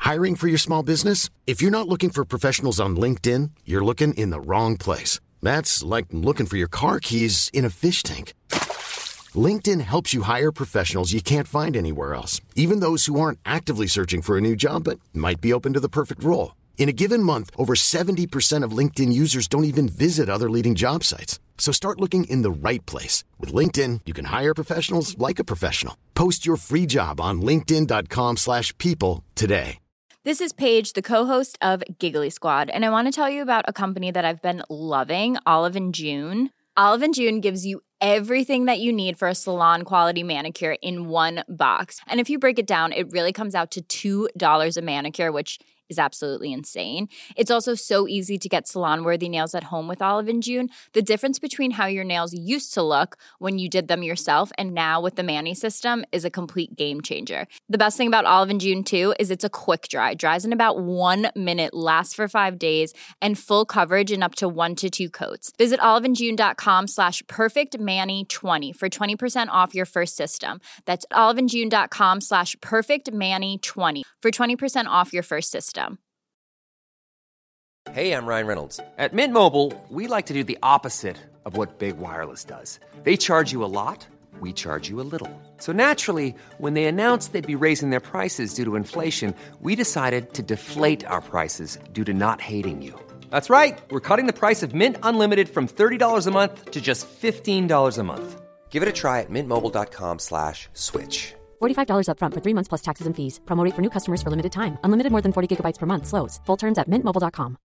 Hiring for your small business? If you're not looking for professionals on LinkedIn, you're looking in the wrong place. That's like looking for your car keys in a fish tank. LinkedIn helps you hire professionals you can't find anywhere else, even those who aren't actively searching for a new job but might be open to the perfect role. In a given month, over 70% of LinkedIn users don't even visit other leading job sites. So start looking in the right place. With LinkedIn, you can hire professionals like a professional. Post your free job on linkedin.com/people today. This is Paige, the co-host of Giggly Squad, and I want to tell you about a company that I've been loving, Olive & June. Olive & June gives you everything that you need for a salon-quality manicure in one box. And if you break it down, it really comes out to $2 a manicure, which is absolutely insane. It's also so easy to get salon-worthy nails at home with Olive & June. The difference between how your nails used to look when you did them yourself and now with the Mani system is a complete game changer. The best thing about Olive & June, too, is it's a quick dry. Dries in about 1 minute, lasts for 5 days, and full coverage in up to 1 to 2 coats. Visit oliveandjune.com/perfectmani20 for 20% off your first system. That's oliveandjune.com/perfectmani20 for 20% off your first system. Hey, I'm Ryan Reynolds. At Mint Mobile, we like to do the opposite of what Big Wireless does. They charge you a lot, we charge you a little. So naturally, when they announced they'd be raising their prices due to inflation, we decided to deflate our prices due to not hating you. That's right. We're cutting the price of Mint Unlimited from $30 a month to just $15 a month. Give it a try at mintmobile.com/switch. $45 up front for 3 months plus taxes and fees. Promo rate for new customers for limited time. Unlimited more than 40 gigabytes per month slows. Full terms at mintmobile.com.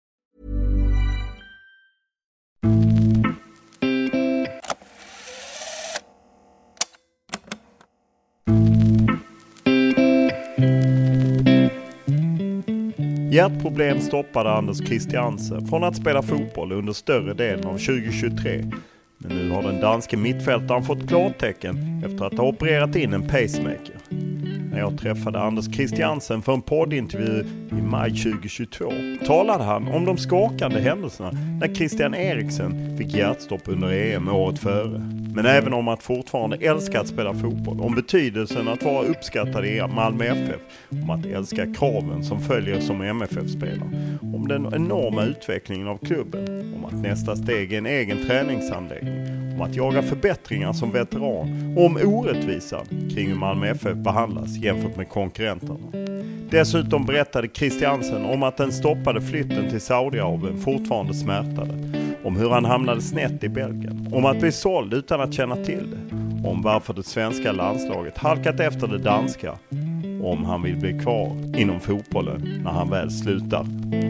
Hjärtproblem stoppade Anders Christiansen från att spela fotboll under större delen av 2023. Men nu har den danske mittfältaren fått klartecken efter att ha opererat in en pacemaker. När jag träffade Anders Christiansen för en poddintervju i maj 2022 talade han om de skakande händelserna när Christian Eriksen fick hjärtstopp under EM året före. Men även om att fortfarande älska att spela fotboll, om betydelsen att vara uppskattad i Malmö FF, om att älska kraven som följer som MFF-spelare, om den enorma utvecklingen av klubben, om att nästa steg är en egen träningsanläggning, om att jaga förbättringar som veteran och om orättvisan kring hur Malmö FF behandlas jämfört med konkurrenterna. Dessutom berättade Christiansen om att den stoppade flytten till Saudiarabien fortfarande smärtade, om hur han hamnade snett i Belgien, om att bli såld utan att känna till det, om varför det svenska landslaget halkat efter det danska, och om han vill bli kvar inom fotbollen när han väl slutar.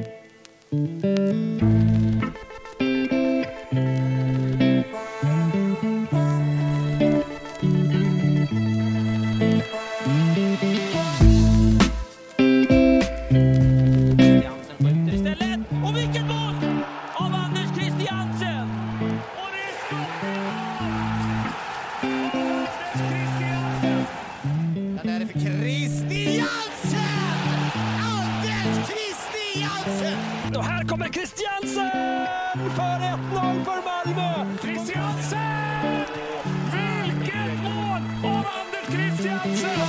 Och här kommer Christiansen för 1-0 för Malmö. Christiansen! Vilket mål av Anders Christiansen!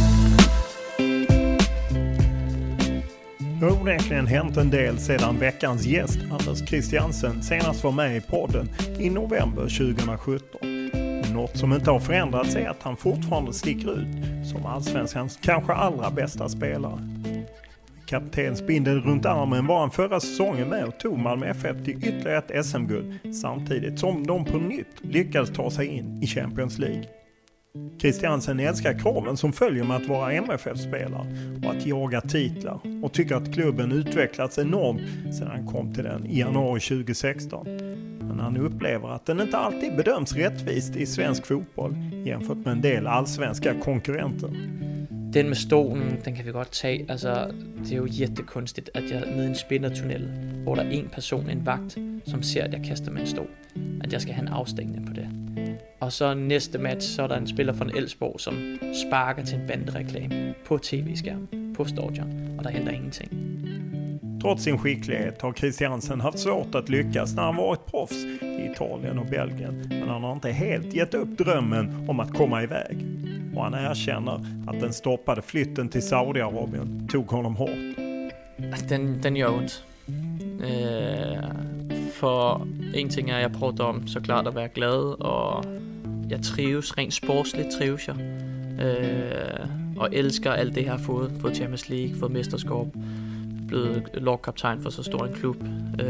Det har onekligen hänt en del sedan veckans gäst Anders Christiansen senast var med i podden i november 2017. Något som inte har förändrats är att han fortfarande sticker ut som allsvenskans kanske allra bästa spelare. Kaptensbindeln runt armen var han förra säsongen med och tog Malmö FF till ytterligare ett SM-guld samtidigt som de på nytt lyckades ta sig in i Champions League. Christiansen älskar kraven som följer med att vara MFF-spelare och att jaga titlar och tycker att klubben utvecklats enormt sedan han kom till den i januari 2016. Men han upplever att den inte alltid bedöms rättvist i svensk fotboll jämfört med en del allsvenska konkurrenter. Den med stolen, den kan vi godt tage. Altså, det er jo jättekonstigt, at jeg nede i en spindertunnel, hvor der er en person, en vagt, som ser, at jeg kaster med en stol, at jeg skal have en afstængning på det. Og så næste match, så er der en spiller fra Elfsborg, som sparker til en bandereklame på tv-skærmen, på stadion, og der händer ingenting. Trots sin skicklighet har Christiansen haft svårt att lyckas när han varit proffs i Italien och Belgien. Men han har inte helt gett upp drömmen om att komma iväg. och han erkänner att den stoppade flytten till Saudiarabien tog honom hårt. Den gör ont. För en ting är jag pratar om såklart att vara glad och jag trivs, rent sportsligt trivs jag. Och älskar allt det jag har fått Champions League, fått mästerskap, blivit lagkaptajn för så stor en klubb.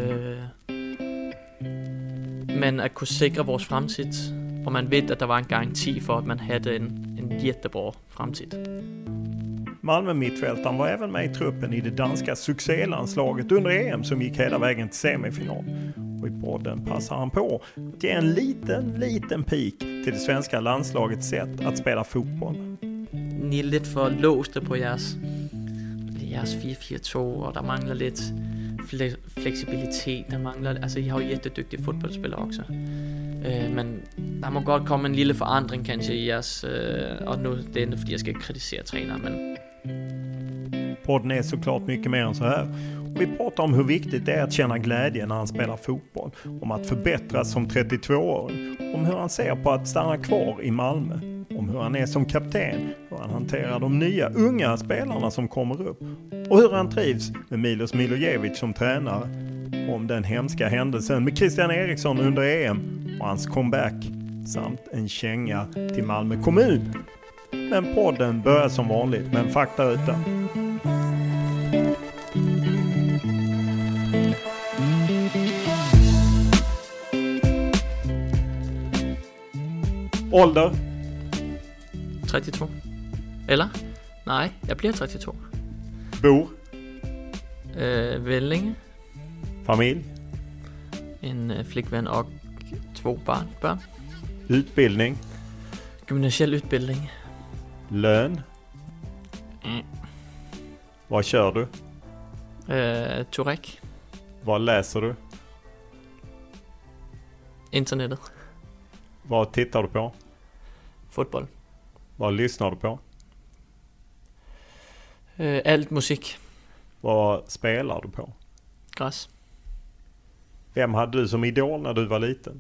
Men att kunna säkra vår framtid, och man vet att det var en garanti för att man hade en jättebra framtid. Malmö-mittfältaren var även med i truppen i det danska succélandslaget under EM som gick hela vägen till semifinal. Och i podden passar han på att ge en liten pik till det svenska landslagets sätt att spela fotboll. Ni är lite för låsta på jeres 4-4-2 och där manglar lite flexibilitet. Der mangler, altså I har jo jättedygtige fodboldspillere också. Men der må godt komme en lille forandring kanske i jeres, och nu det är inte fordi jag ska kritisera tränaren, men podden är såklart mycket mer än så här. Och vi pratar om hur viktigt det är att känna glädje när han spelar fotboll, om att förbättras som 32-åring, om hur han ser på att stanna kvar i Malmö, om hur han är som kapten, hur han hanterar de nya unga spelarna som kommer upp och hur han trivs med Milos Milojevic som tränare, om den hemska händelsen med Christian Eriksson under EM och hans comeback samt en känga till Malmö kommun. Men podden börjar som vanligt med en faktaruta. Ålder? 32. Eller? Nej, jag blir 32. Bor? Vellinge. Familj? En flickvän och 2 barn. Utbildning? Gymnasial utbildning. Lön? Vad kör du? Turek. Vad läser du? Internetet. Vad tittar du på? Fotboll. Vad lyssnar du på? Allt musik. Vad spelar du på? Gräs. Vem hade du som idol när du var liten?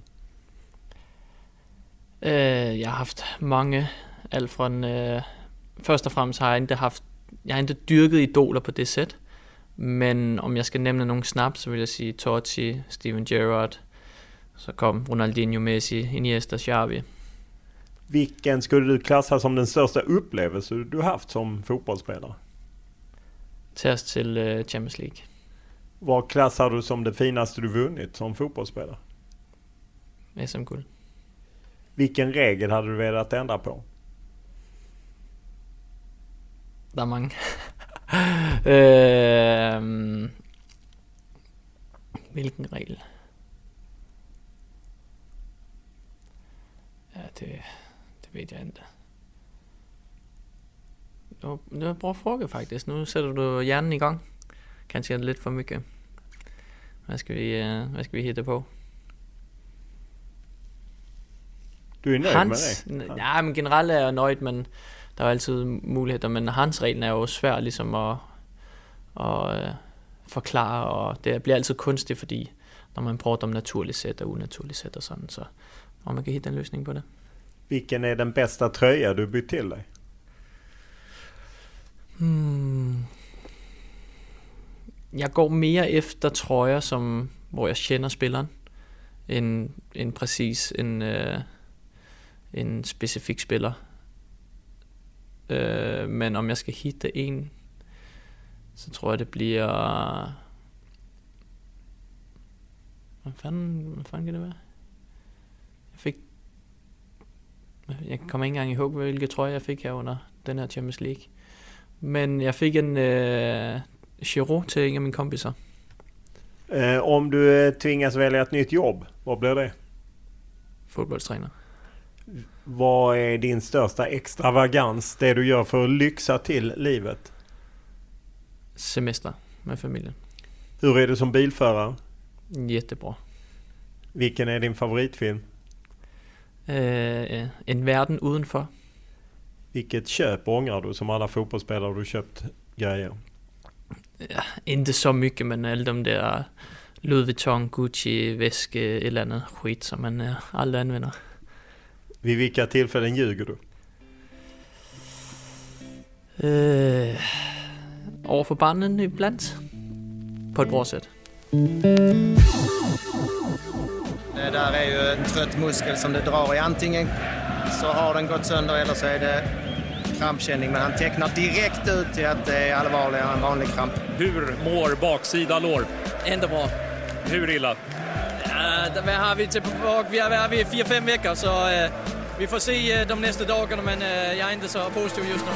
Jag har haft många. Allt från först och främst har jag inte dyrket idoler på det sätt. Men om jag ska nämna någon snabbt så vill jag säga Totti, Steven Gerrard. Så kom Ronaldinho, Messi, Iniesta, Xavi. Vilken skulle du klassa som den största upplevelse du haft som fotbollsspelare? Test till Champions League. Vad klassar du som det finaste du vunnit som fotbollsspelare? SM-guld. Vilken regel hade du velat ändra på? Där många. Vilken regel? Ja, det vet jag inte. Det var en bra fråga faktiskt. Nu sätter du hjärnan igång. Kanske lite för mycket. Vad ska vi hitta på? Du är nöjd med det? Ja, men generellt är jag nöjd, men der er altid muligheder. Men hans regel er jo svær ligesom at forklare, og det bliver altid kunstigt, fordi når man prater om naturligt sæt og unaturligt sæt og sådan, så om man kan hitta en løsning på det. Vilken är den bästa tröja du bytt till dig? Jeg går mere efter trøjer, hvor jeg kender spilleren, end præcis en specifik spiller. Men om jeg skal hitte en, så tror jeg det bliver... Hvad fanden kan det være? Jeg kommer ikke engang ihåg, hvilke trøje jeg fik her under den her Champions League. Men jeg fik en Giroud till en av mina kompisar. Om du tvingas välja ett nytt jobb, vad blir det? Fotbollstränare. Vad är din största extravagans, det du gör för att lyxa till livet? Semester med familjen. Hur är du som bilförare? Jättebra. Vilken är din favoritfilm? En världen utanför. Vilket köp ångrar du som alla fotbollsspelare du köpt grejer? Ja, inte så mycket, men alla de där Louis Vuitton, Gucci, väske eller annat skit som man aldrig använder. Vid vilka tillfällen ljuger du? Over for barnen ibland. På ett bra sätt. Det där är ju en trött muskel som det drar i. Antingen så har den gått sönder eller så är det krampkänning. Men han tecknar direkt ut till att det är allvarligare än vanlig kramp. Hur mår baksida lår? Ändå bra. Hur illa? Vad har vi tillbaka? Vi är vid 4-5 veckor så vi får se de nästa dagarna, men jag är inte så positiv just nu.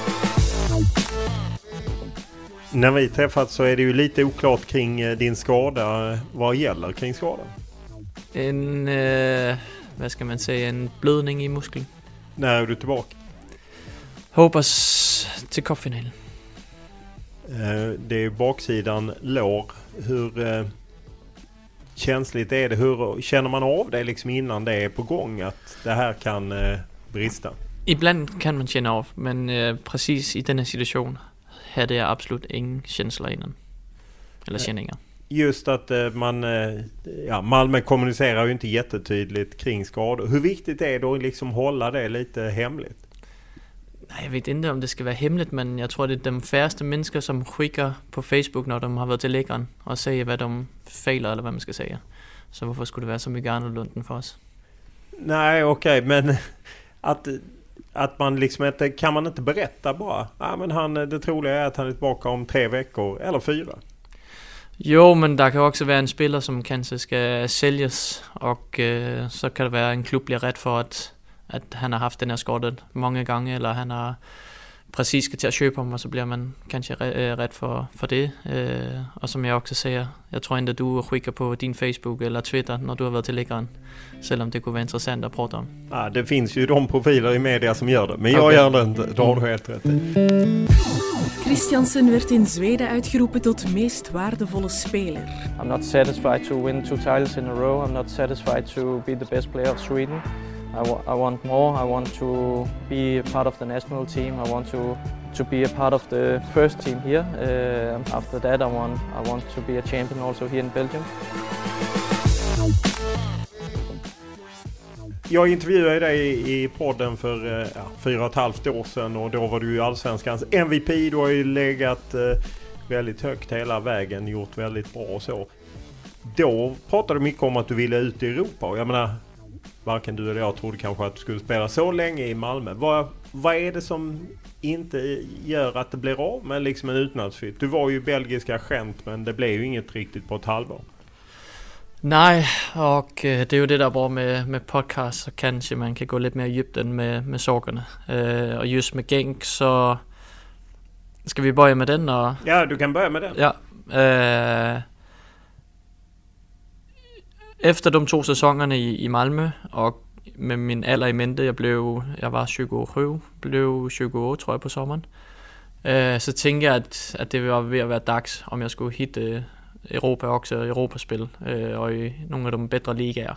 När vi träffats så är det ju lite oklart kring din skada. Vad gäller kring skadan? En, vad ska man säga, en blödning i muskeln. När är du tillbaka? Hoppas till cupfinalen. Det är baksidan lår. Hur känsligt är det? Hur känner man av det liksom innan det är på gång att det här kan brista? Ibland kan man känna av, men precis i den här situationen hade jag absolut ingen känsla innan. Eller känningar. Just att Malmö kommunicerar ju inte jättetydligt kring skador. Hur viktigt är det att liksom hålla det lite hemligt? Nej, jag vet inte om det ska vara hemligt, men jag tror det är de färreste människor som skickar på Facebook när de har varit till läkaren och säger vad de failar eller vad man ska säga. Så varför skulle det vara så mycket annorlunda för oss? Nej, okej, men att man liksom inte, kan man inte berätta bara? Ja, men det troliga är att han är tillbaka om 3 veckor eller 4. Jo, men det kan också vara en spelare som kanske ska säljas och så kan det vara en klubb blir rädd för att han har haft den här skadan många gånger eller han har precis ska till att köpa honom och så blir man kanske rädd för det. Och som jag också säger, jag tror inte att du skickar på din Facebook eller Twitter när du har varit till läkaren, selv om det kunne vara intressant att prata om. Ja, det finns ju de profiler i media som gör det, men jag gör det inte. Det har du helt rätt i. Christiansen werd in Zweden uitgeroepen tot meest waardevolle speler. I'm not satisfied to win 2 titles in a row. I'm not satisfied to be the best player of Sweden. I want more. I want to be a part of the national team. I want to be a part of the first team here. After that, I want to be a champion also here in Belgium. Jag intervjuade dig i podden för 4,5 år sedan och då var du ju Allsvenskans MVP. Du har ju legat väldigt högt hela vägen, gjort väldigt bra och så. Då pratade du mycket om att du ville ut i Europa och jag menar, varken du eller jag trodde kanske att du skulle spela så länge i Malmö. Vad är det som inte gör att det blir av med liksom en utlandsflytt? Du var ju belgisk agent, men det blev ju inget riktigt på ett halvår. Nej, och det är ju det där bra med podcast, så kanske man kan gå lite mer djupt än med sakerna. Och just med Genk så ska vi börja med den? Och... Ja, du kan börja med den. Ja. Efter de 2 säsongerna i Malmö och med min alder i mente, jag var 27, blev 20 år tror jag på sommaren. Så tänkte jag att det var ved at være dags, om jag skulle hitta Europa också, Europaspel och i några av de bättre ligaer.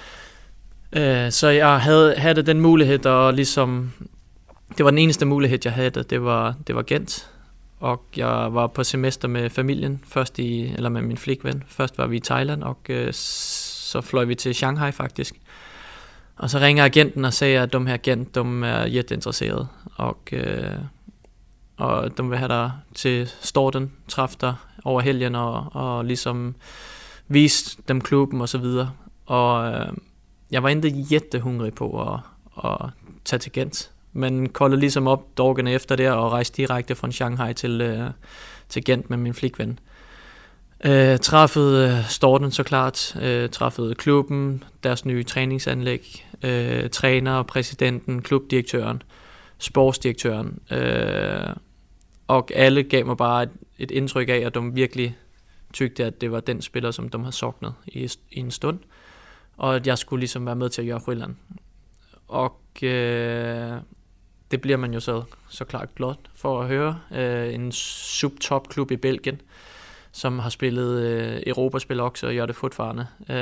Så jag hade den möjlighet och liksom, det var den eneste mulighed jag hade, det var Gent. Och jag var på semester med familjen, eller med min flickvän. Först var vi i Thailand och så flög vi till Shanghai faktiskt. Och så ringer agenten och säger att de här Gent, de är jätteintresserade. Och de vill ha dig till starten, träffa dig över helgen och liksom visa dem klubben och så vidare. Och jag var inte jättehungrig på att ta till Gent. Men kollade liksom upp dagen efter det och rejste direkte från Shanghai till Gent med min flickvän. Träffade starten såklart, träffade klubben, deras nya träningsanlägg, tränare, presidenten, klubbdirektören, sportsdirektören. Och alla gav mig bara ett intryck av att de verkligen tyckte att det var den spelare som de hade saknat i en stund. Och att jag skulle liksom vara med till att göra skillnaden. Och det blir man ju såklart glad för att höra. En subtopklub i Belgien som har spelat Europaspel också och gör det fortfarande.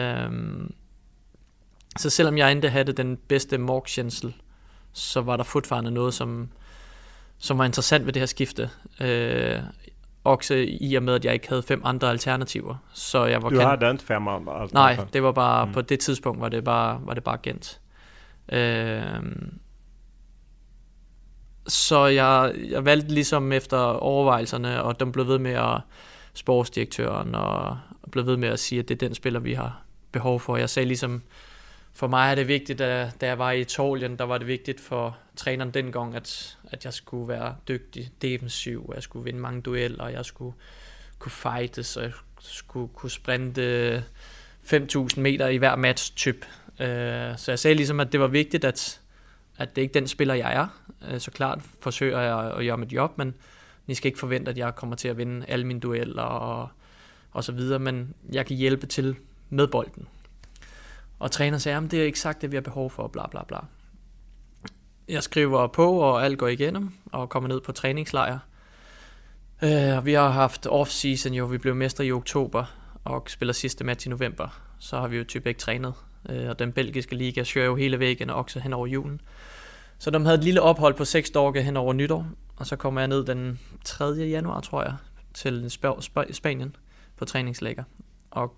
Så selvom jag inte hade den bästa magkänslan, så var det fortfarande något som var intressant ved det her skifte. Också i og med, at jeg ikke havde 5 andre alternativer. Så jeg var du hade inte 5 andra alternativer? Nej, det var bare, på det tidspunkt var det bare Gent. Så jeg valgte ligesom efter overvejelserne, og de blev ved med at sportsdirektøren, og blev ved med at sige, at det er den spiller, vi har behov for. Jeg sagde ligesom, for mig er det vigtigt, at da jeg var i Italien, der var det vigtigt for træneren dengang, at jeg skulle være dygtig defensiv, jeg skulle vinde mange dueller, og jeg skulle kunne fightes, og jeg skulle kunne sprinte 5.000 meter i hver match-typ. Så jeg sagde ligesom, at det var vigtigt, at det ikke er den spiller, jeg er. Så klart forsøger jeg at gøre mit job, men I skal ikke forvente, at jeg kommer til at vinde alle mine dueller og så videre, men jeg kan hjælpe til med bolden. Og træneren sagde, at det er eksakt det, vi har behov for, bla bla bla. Jeg skriver på, og alt går igennem, og kommer ned på træningslejr. Vi har haft off-season jo, vi blev mestre i oktober, og spiller sidste match i november. Så har vi jo typisk ikke trænet. Og den belgiske liga kører jo hele væggen, og også hen over julen. Så de havde et lille ophold på 6 dage hen over nytår, og så kommer jeg ned den 3. januar, tror jeg, til Spanien på træningslæger. Og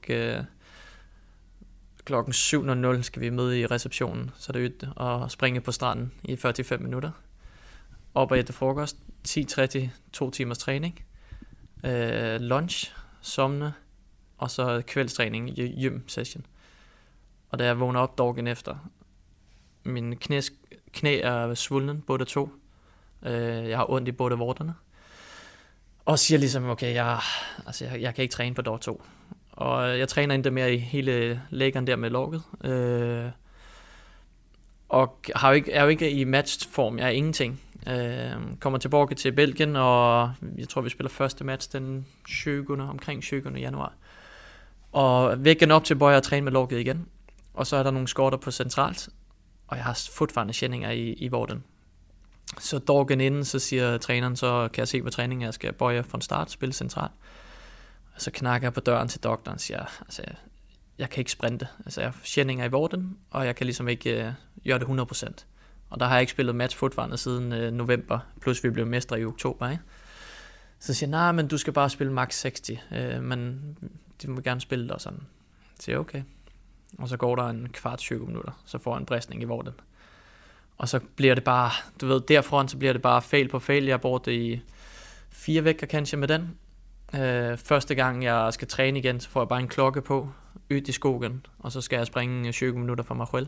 klokken 7.00 skal vi møde i receptionen, så det er og springe på stranden i 45 minutter. Op og efter frokost, 10:30, 2 timers træning, lunch, somne, og så kvældstræning, gym session. Og da jeg vågner op dagen efter, min knæ er svulden, både to. Jeg har ondt i både vorterne. Og siger ligesom, okay, jeg kan ikke træne på dag 2. Og jeg træner ikke mere i hele læggeren der med låget. Og er jo ikke i matchform, jeg er ingenting. Kommer tilbage til Belgien, og jeg tror, vi spiller første match den omkring 20. januar. Og vækken op til Bøjer og træne med låget igen. Og så er der nogle skorter på centralt, og jeg har fortfarande kændinger i vorten. Så dagen inden, så siger træneren, så kan jeg se på træningen, at jeg skal Bøjer fra start, spille centralt. Og så knakker jeg på døren til doktoren og siger, jeg kan ikke sprinte. Altså, jeg har kændinger i vorten, og jeg kan ligesom ikke gøre det 100%. Og der har jeg ikke spillet match fortfarande siden november, plus vi blev mestre i oktober, ikke? Så siger jeg, nej, men du skal bare spille max 60, men de må gerne spille det og sådan. Så siger jeg, okay. Og så går der en kvart 20 minutter, så får jeg en bristning i vorten. Og så bliver det bare, du ved, derfra så bliver det bare fail på fail. Jeg har brugt det i 4 vejer kanskje med den. Første gang jeg skal træne igen, så får jeg bare en klokke på, ud i skogen, og så skal jeg springe 20 minutter for mig selv.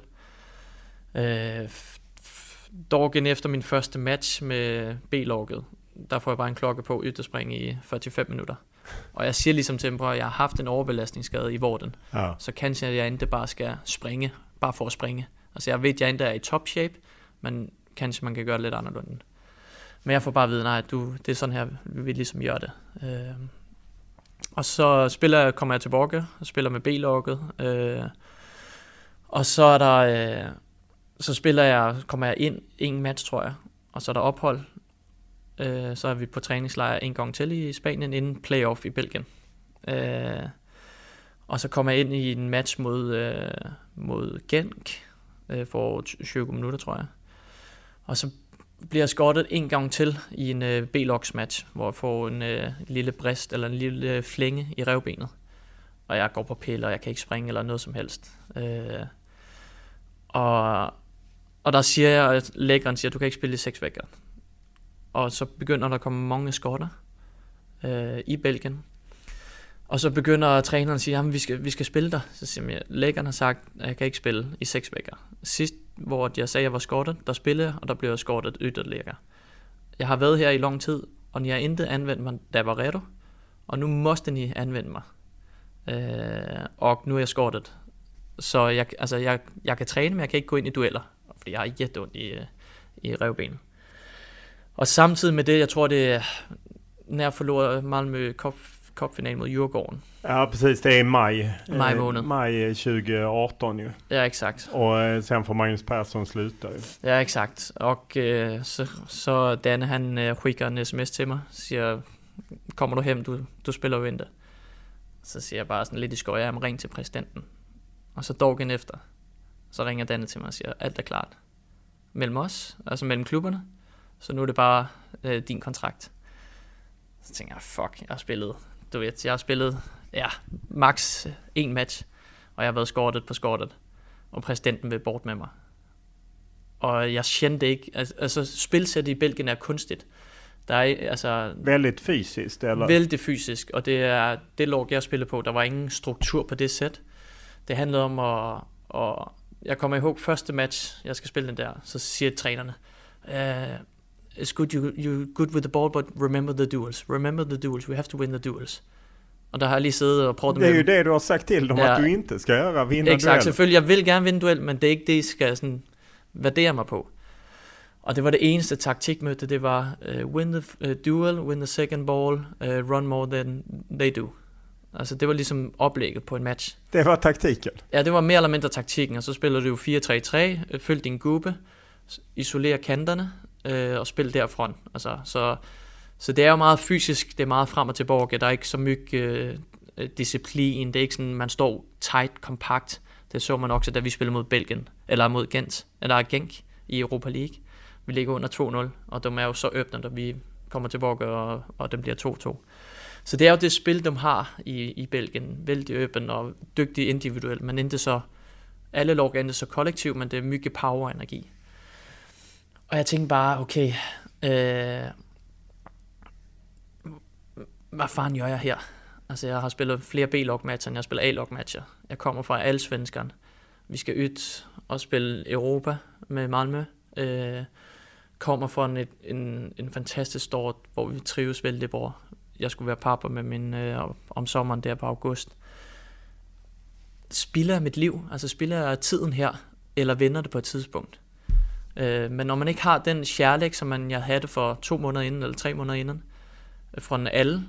Dagen efter min første match med B-logget, der får jeg bare en klokke på, ud og springe i 45 minutter. Og jeg siger ligesom til dem, at jeg har haft en overbelastningsskade i vorten, så kanskje jeg ikke bare skal springe, bare for at springe. Altså jeg ved, at jeg ikke er i top shape, men kanskje man kan gøre det lidt anderledes. Men jeg får bare at vide, nej, det er sådan her, vi vil ligesom gøre det. Og så kommer jeg tilbage og spiller med B-logget. Og så er der, kommer jeg ind en match, tror jeg, og så er der ophold. Så er vi på træningslejr en gang til i Spanien, inden playoff i Belgien. Og så kommer jeg ind i en match mod Genk for 20 minutter, tror jeg. Og så bliver jeg skottet en gang til i en B-logs match, hvor jeg får en lille brist eller en lille flænge i revbenet. Og jeg går på pille, og jeg kan ikke springe eller noget som helst. Og der siger jeg, at lægeren siger, at du kan ikke spille i 6 vejer. Og så begynder der at komme mange skotter i Belgien. Og så begynder træneren at sige, at vi skal spille dig. Så siger jeg, lægeren har sagt, at jeg kan ikke spille i 6 vejer. Sidst, hvor jeg sagde, at jeg var skottet, der spillede jeg, og der blev jeg skottet yderligere. Jeg har været her i lang tid, og jeg har intet anvendt mig, da jeg var redo. Og nu måste ni anvende mig. Og nu er jeg skottet. Så jeg kan træne, men jeg kan ikke gå ind i dueller. Fordi jeg har jätteondt i revbenet. Og samtidig med det, jeg tror det er, när jag förlorade Malmö cupfinal mot Djurgården. Ja, precis. Det är maj månad. Maj 2018 ju. Ja, exakt. Och sen får Magnus Persson sluta ju. Ja, exakt. Och så Danne, han skickar en sms till mig. Siger, kommer du hem, du spelar ju inte. Så siger jeg bare sådan lidt i skøj, jeg ring til præsidenten. Og så dagen efter, så ringer Danne til mig og siger, alt er klart. Mellem os, altså mellem klubberne. Så nu er det bare din kontrakt. Så tænker jeg, fuck, jeg har spillet, max 1 match, og jeg har været skortet på skortet, og præsidenten vil bort med mig. och jag kände inte, alltså spilsættet i Belgien är kunstigt. Der er altså väldigt fysiskt eller? Väldigt fysisk, og det er det lag jeg spillede på. Der var ingen struktur på det sæt. Det handlede om at jeg kommer ihåg første match, jeg skal spille den der, så siger trænerne, it's good you good with the ball, but remember the duels. Remember the duels. We have to win the duels. Och där har jag lige siddet och prøvet med. Det är ju det du har sagt till dem att du inte ska göra, vinna exakt, duell. Selvfølgelig, jeg vil gerne vinde duel, men det er ikke det, I skal sådan værdere mig på. Og det var det eneste taktikmøde, det var win the duel, win the second ball, run more than they do. Altså det var ligesom oplægget på en match. Det var taktikken? Ja, det var mere eller mindre taktikken, og så spiller du jo 4-3-3, følg din gruppe, isoler kanterne og spil derfra. Altså, så det er jo meget fysisk, det er meget frem og tilbage, der er ikke så mye disciplin, det er ikke sådan, man står tight, kompakt. Det så man også, da vi spillede mod Belgien, eller mod Genk i Europa League. Vi ligger under 2-0, og de er jo så åbne, da vi kommer tilbage, og det bliver 2-2. Så det er jo det spil, de har i Belgien. Vældig åben og dygtig individuelt, men ikke så, alle lag er ikke så kollektiv, men det er mye power og energi. Og jeg tænkte bare, okay, hvad fanden gør jeg her? Altså jeg har spillet flere B-lag-matcher, end jeg spiller A-lag-matcher. Jeg kommer fra Allsvenskan. Vi skal ud og spille Europa med Malmö. Kommer fra en fantastisk start, hvor vi trives vældig bra. Jeg skulle være pappa med min om sommeren der på august. Spiller jeg mit liv? Altså spiller jeg tiden her, eller vender det på et tidspunkt? Men når man ikke har den kærlighed, som jeg havde for 2 måneder inden, eller 3 måneder inden, fra alle,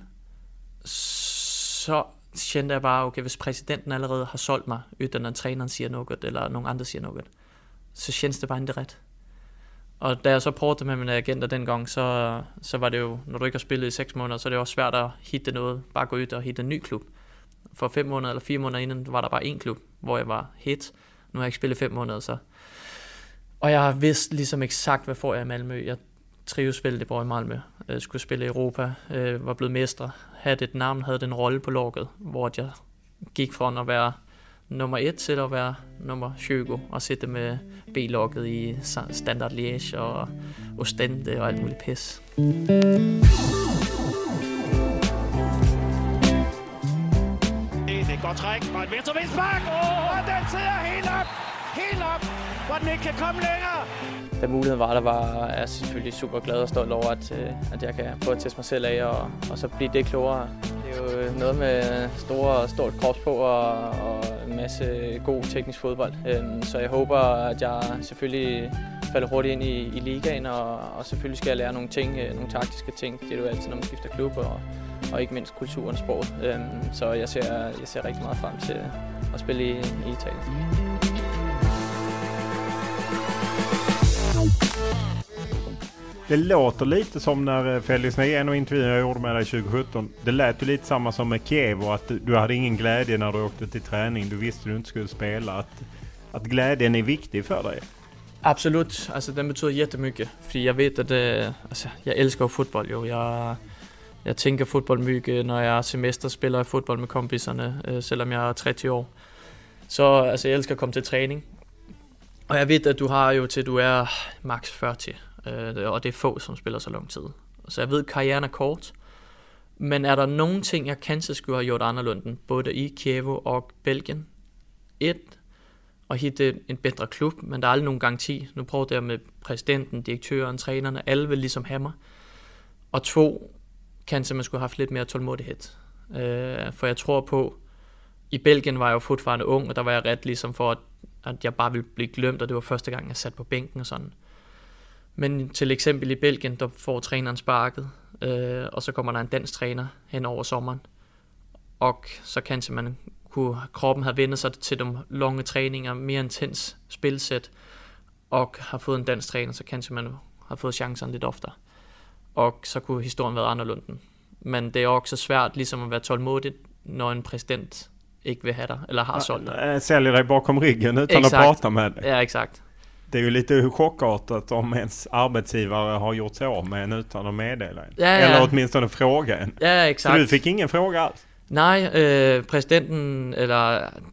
så kände jeg bare, okay, hvis præsidenten allerede har solgt mig, uden at træneren siger noget, eller nogen andre siger noget, så kändes det bare ikke ret. Og da jeg så prøvede med mine agenter dengang, så var det jo, når du ikke har spillet i 6 måneder, så er det også svært at hitte noget, bare gå ud og hitte en ny klub. For 5 måneder eller 4 måneder inden var der bare en klub, hvor jeg var hit. Nu har jeg ikke spillet 5 måneder, så. Og jeg vidste ligesom eksakt, hvad får jeg i Malmö. Jeg trives vældig bra i Malmö. Jeg skulle spille i Europa, var blevet mestre, havde et navn, havde den rolle på laget, hvor jeg gik fra at være nummer 1 til at være nummer 20 og sætte med B-laget i Standard Liège og Ostende og alt muligt pis. Det går træk og et venstrevindspark, og den sidder helt op, hvor den ikke kan komme længere. Da muligheden var jeg selvfølgelig super glad og stolt over, at jeg kan prøve at teste mig selv af og så blive det klogere. Det er jo noget med stort krops på og en masse god teknisk fodbold. Så jeg håber, at jeg selvfølgelig falder hurtigt ind i ligaen, og selvfølgelig skal jeg lære nogle ting, nogle taktiske ting. Det er jo altid, når man skifter klub, og ikke mindst kulturen og sproget. Så jeg ser rigtig meget frem til at spille i Italien. Det låter lite som när Felix Negen och intervjun jag gjorde med dig 2017. Det lät ju lite samma som med Kiev, och att du hade ingen glädje när du åkte till träning. Du visste du inte skulle spela. Att glädjen är viktig för dig. Absolut. Alltså den betyder jättemycket. För jag vet att jag älskar fotboll. Jo. Jag tänker fotboll mycket när jag semester spelar fotboll med kompisarna, selvom jag är 30 år. Så alltså, jag älskar att komma till träning. Og jeg ved, at du har jo til, du er max 40, og det er få, som spiller så lang tid. Så jeg ved, at karrieren er kort. Men er der nogle ting, jeg kanskje skulle have gjort anderledes, både i Kiev og Belgien? 1. At hitte en bedre klub, men der er aldrig nogen garanti. Nu prøver jeg med præsidenten, direktøren, trænerne, alle vil ligesom have mig. Og 2. Kanskje man skulle have haft lidt mere tålmodighed. For jeg tror på, i Belgien var jeg jo fortfarande ung, og der var jeg ret ligesom for, at jeg bare ville blive glemt, og det var første gang, jeg satte på bænken og sådan. Men til eksempel i Belgien, der får træneren sparket, og så kommer der en dansk træner hen over sommeren. Og så kanskje kroppen have vendt sig til de lange træninger, mere intens spilsæt, og har fået en dansk træner, så kanskje man har fået chancen lidt oftere. Og så kunne historien være anderledes. Men det er også svært ligesom at være tålmodig, når en præsident ikke vil have dig, eller har solgt dig. Säljer dig bakom ryggen utan att prata med dig. Ja, exakt. Det är ju lite chockartat om ens arbetsgivare har gjort sig av med en utan att meddela en. Ja. Eller åtminstone fråga en. Ja, exakt. Så du fick ingen fråga alls? Nej, præsidenten, eller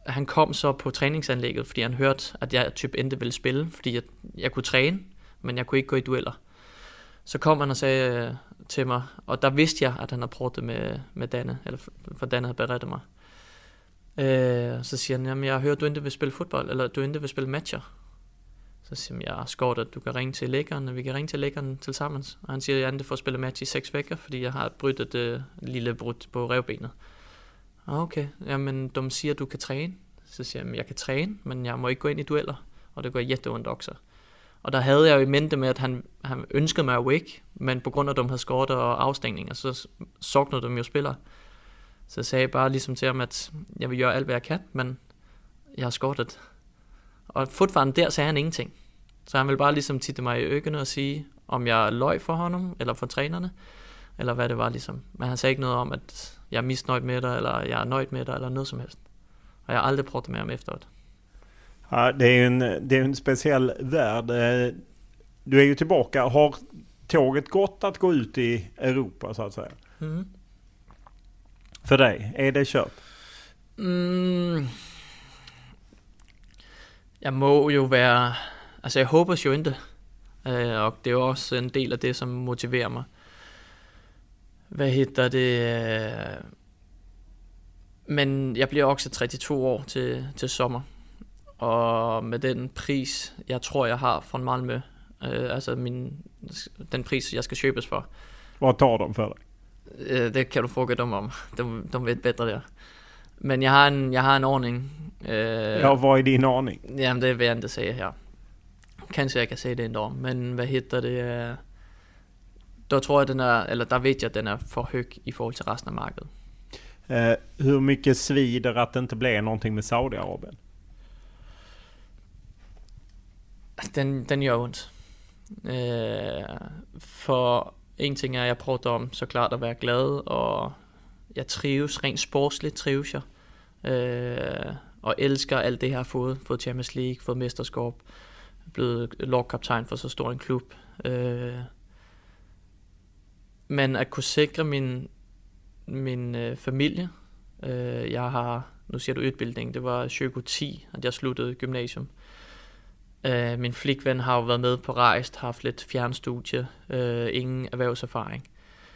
han kom så på træningsanlægget, fordi han hørte, at jeg typ endte ville spille, fordi jeg kunne træne, men jeg kunne ikke gå i dueller. Så kom han og sagde til mig, og der vidste jeg, at han havde prøvet det med Danne, eller for Danne havde berettet mig. Så siger han, jamen jeg har hørt, du endte vil spille fodbold, eller du endte vil spille matcher. Så siger jeg har skåret, at du kan ringe til lægeren, og vi kan ringe til lægeren til sammen. Og han siger, at jeg endte for at spille match i 6 vejer, fordi jeg har brydt et lille brud på revbenet. Okay, jamen de siger, at du kan træne. Så siger jeg kan træne, men jeg må ikke gå ind i dueller, og det går jätteondt også. Og der havde jeg jo i mente med, at han ønskede mig awake, men på grund af, at de havde skåret og afstængninger, så soknede de jo spillere. Så jeg sagde bare ligesom til ham, at jeg vil gøre alt, hvad jeg kan, men jeg har skåret. Og fortfarande der sagde han ingenting. Så han ville bare ligesom titte mig i øjnene og sige, om jeg løg for ham, eller for trænerne, eller hvad det var ligesom. Men han sagde ikke noget om, at jeg er misnøjd med dig, eller jeg er nøjd med dig, eller noget som helst. Og jeg har aldrig pratat med ham efteråt. Ja, det är en speciell värld. Du är ju tillbaka. Har tåget gått att gå ut i Europa så att säga? Mm. För dig, är det kört? Jeg må jo være... Altså jeg håber jo ikke. Og det er jo også en del af det, som motiverer mig. Hvad hedder det? Men jeg bliver også 32 år til sommer. Og med den pris, jeg tror, jeg har fra Malmö, altså den pris, jeg skal købes for. Hvad tar de for dig? Det kan du fråga dem om. De vet bedre der. Men jeg har en ordning. Ja, hvad er din ordning? Jamen, det vil jeg ikke sige her. Kanskje jeg kan sige det en dag. Men hvad hedder det? Der tror jeg, der ved jeg, at den er for høj i forhold til resten af markedet. Hur mycket svider att det inte blev någonting med Saudiarabien? Den gør ondt. For en ting er, jeg prøver om så klart at være glad, og jeg trives, rent sportsligt trives jeg. Og elsker alt det, jeg har fået Champions League, fået mesterskab, blevet lagkaptajn for så stor en klub. Men at kunne sikre min familie, jeg har, nu siger du udbildning, det var 2010, at jeg sluttede gymnasium. Min flikven har jo været med på rejst, haft lidt fjernstudie, ingen erhvervserfaring.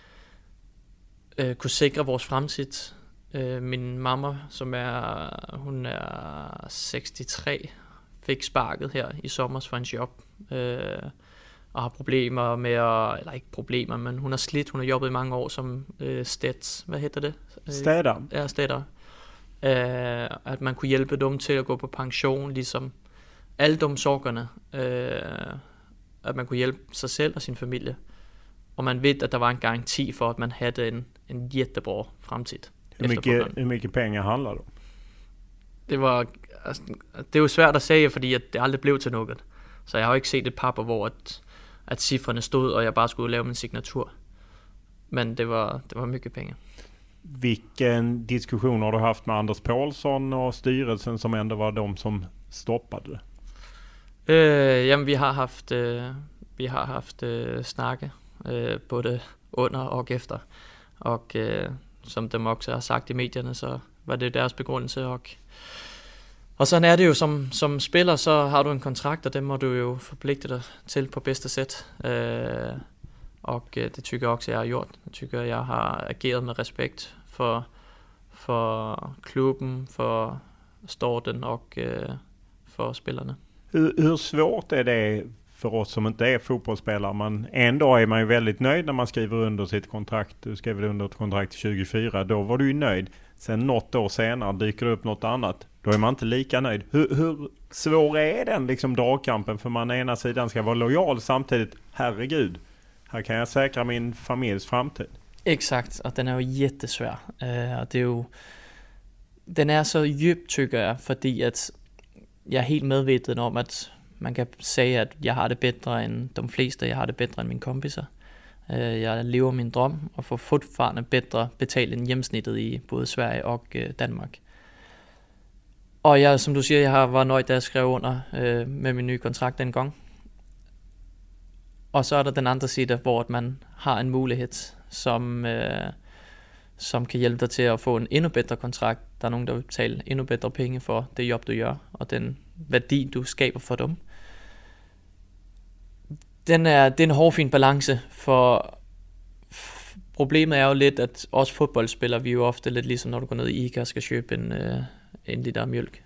Kunne sikre vores fremtid. Min mamma, hun er 63, fik sparket her i sommer for en job, og har problemer med eller ikke problemer, men hun har slidt, hun har jobbet i mange år som steds, hvad hedder det? Steder. Ja, steder. At man kunne hjælpe dem til at gå på pension, ligesom alle de sorgerne, at man kunne hjælpe sig selv og sin familie. Og man ved, at der var en garanti for, at man havde en jättebra fremtid. Hur mycket pengar handler det om? Det er jo svært at sige, fordi at det aldrig blev til noget. Så jeg har jo ikke set et papir, hvor at cifrene stod, og jeg bare skulle lave min signatur. Men det var mycket pengar. Vilken diskussion har du haft med Anders Paulsson och styrelsen som ändå var de som stoppade det? Jamen vi har haft snakke både under og efter. Og som dem også har sagt i medierne, så var det deres begrundelse. Og sådan er det jo som spiller, så har du en kontrakt, og den må du jo forpligte dig til på bedste sæt. Og det tykker jeg også, jeg har gjort. Jeg tykker, jeg har ageret med respekt for klubben, for Storten og for spillerne. Hur svårt är det för oss som inte är fotbollsspelare? En dag är man ju väldigt nöjd när man skriver under sitt kontrakt. Du skrev under ett kontrakt 2024. Då var du ju nöjd. Sen något år senare dyker det upp något annat. Då är man inte lika nöjd. Hur svår är den liksom dragkampen? För man ena sidan ska vara lojal samtidigt. Herregud, här kan jag säkra min familjs framtid. Exakt, og den er jo jättesvær. Og det er jo, den er så djup, tykker jeg, fordi at jeg er helt medveten om, at man kan sige, at jeg har det bedre end de fleste. Jeg har det bedre end mine kompiser. Jeg lever min drøm og får fortfarande bedre betalt end gennemsnittet i både Sverige og Danmark. Og jeg, som du siger, jeg var nøjd, da jeg skrev under med min nye kontrakt dengang. Og så er der den andre side, hvor man har en mulighed, som kan hjælpe dig til at få en endnu bedre kontrakt. Der er nogen, der vil betale endnu bedre penge for det job, du gør, og den værdi, du skaber for dem. Det er en hårfin balance, for problemet er jo lidt, at os fodboldspillere, vi er jo ofte lidt ligesom, når du går ned i ICA og skal købe en liter mælk.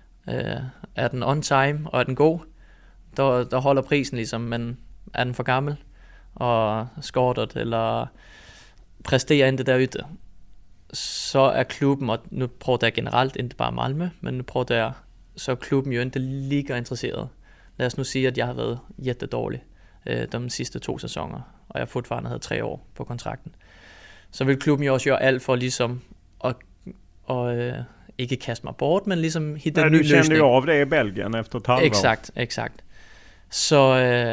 Er den on time, og er den god, der holder prisen ligesom, men er den for gammel, og skortet, eller præsterer ikke derude, så er klubben, og nu prøver der generelt, ikke bare Malmö, men nu prøver der, så er klubben jo ikke lige interesseret. Lad os nu sige, at jeg har været jättedårlig de sidste 2 sæsoner, og jeg fortfarande havde 3 år på kontrakten. Så vil klubben jo også gøre alt for ligesom at ikke kaste mig bort, men ligesom hitte en ny løsning. Du kände ju av det i Belgien efter ett halvår. Exakt. Så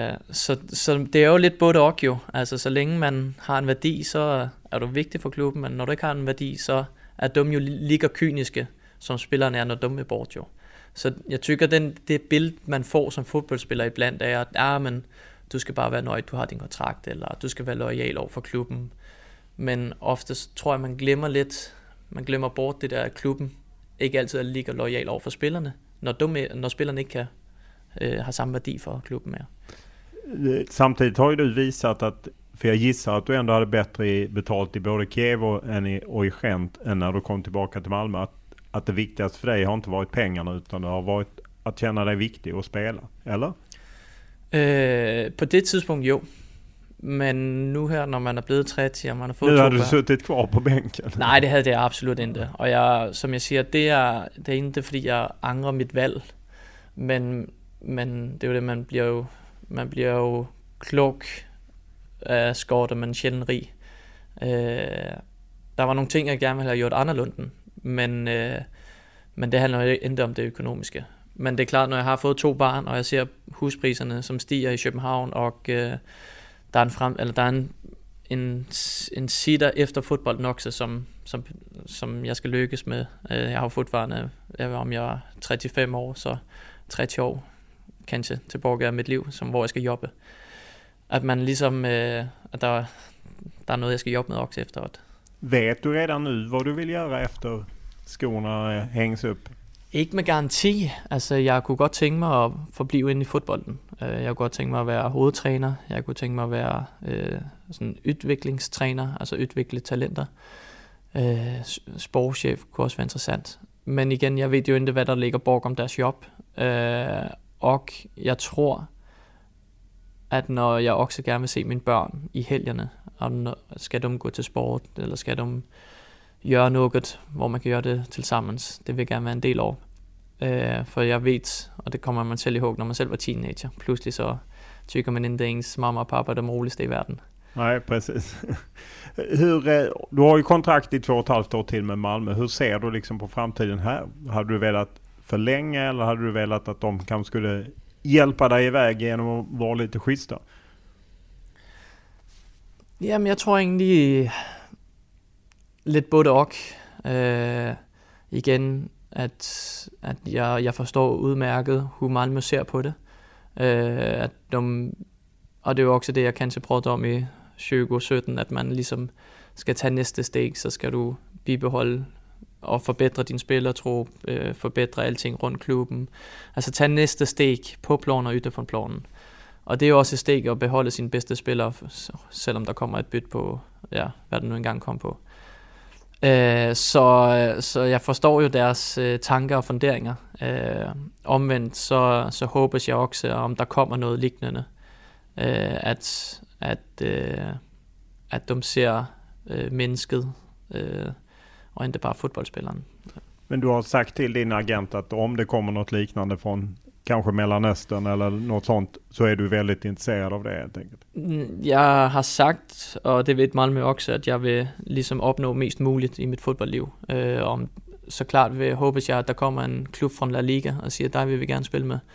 det er jo lidt både og jo. Altså så længe man har en værdi, så er du vigtig for klubben, men når du ikke har en værdi, så er de jo lige kyniske, som spillerne er, når de er bort jo. Så jeg tykker, det billede, man får som fodboldspiller iblandt, er, at men du skal bare være nøjd, du har din kontrakt, eller du skal være loyal over for klubben. Men oftest tror jeg, man glemmer bort det der, at klubben ikke altid er lige loyal over for spillerne, når spillerne ikke kan har samme værdi för klubben med. Samtidigt har ju du visat att, för jag gissar att du ändå hade bättre betalt i både Kiev och i Gent än när du kom tillbaka till Malmö, att det viktigaste för dig har inte varit pengarna utan det har varit att känna dig viktig och spela, eller? På det tidspunkt jo. Men nu her, når man er blevet 30 og man har fået nu har du suttit kvar på bænken. Nej, det havde jeg absolut ikke. Og som jeg siger, det er ikke fordi jeg angrer mit valg. Men det er jo det, man bliver jo klog af skort, og man er sjældent rig. Der var nogle ting, jeg gerne ville have gjort anderledes, men det handler jo ikke om det økonomiske. Men det er klart, når jeg har fået 2 barn, og jeg ser huspriserne, som stiger i København, og der er en side efter fodbolden også, som jeg skal lykkes med. Jeg har fortfarande, om jeg er 35 år, så 30 år kanskje tilbage af mit liv, hvor jeg skal jobbe. At man ligesom, at der er noget, jeg skal jobbe med også efteråt. Vet du redan nu, hvad du vil gøre efter skorna hænges op? Ikke med garanti. Altså, jeg kunne godt tænke mig at forblive inde i fodbolden. Jeg kunne godt tænke mig at være hovedtræner. Jeg kunne tænke mig at være sådan udviklingstræner, altså udvikle talenter. Sportschef kunne også være interessant. Men igen, jeg ved jo ikke, hvad der ligger bag om deres job. Og jeg tror, at når jeg også gerne vil se mine børn i helgerne, og skal de gå til sport, eller skal de gøre noget, hvor man kan gøre det tilsammens, det vil jeg gerne være en del af. For jeg ved, og det kommer man selv ihåg, når man selv var teenager, pludselig så tycker man inte ens mamma och pappa de roligste i världen. Nej, precis. Du har ju kontrakt i 2,5 år till med Malmö. Hur ser du liksom på framtiden här? Hade du velat förlänga eller hade du velat att de kanske skulle hjälpa dig iväg genom att vara lite schyssta? Jamen, jeg tror egentlig lidt både og. Igen, at jeg forstår udmærket, hvor Malmö ser på det. Og det er jo også det, jeg kanskje prøvede om i 2017, at man ligesom skal tage næste steg, så skal du bibeholde og forbedre din spillertrup, forbedre alting rundt klubben. Altså tage næste steg på planen og ytter for planen. Og det er jo også et steg at beholde sine bedste spillere, selvom der kommer et byt på, ja, hvad det nu engang kom på. Så jeg forstår jo deres tanker og funderinger. Omvendt så håber jeg også, om der kommer noget lignende, at de ser mennesket och inte bara fotbollsspelaren. Men du har sagt till din agent att om det kommer något liknande från kanske Mellanöstern eller något sånt, så är du väldigt intresserad av det helt enkelt. Jeg har sagt, og det vet Malmö også, at jeg vil ligesom opnå mest muligt i mit fodboldliv. Om så klart håber jeg, at der kommer en klub fra La Liga og siger, der vil vi gerne spille med.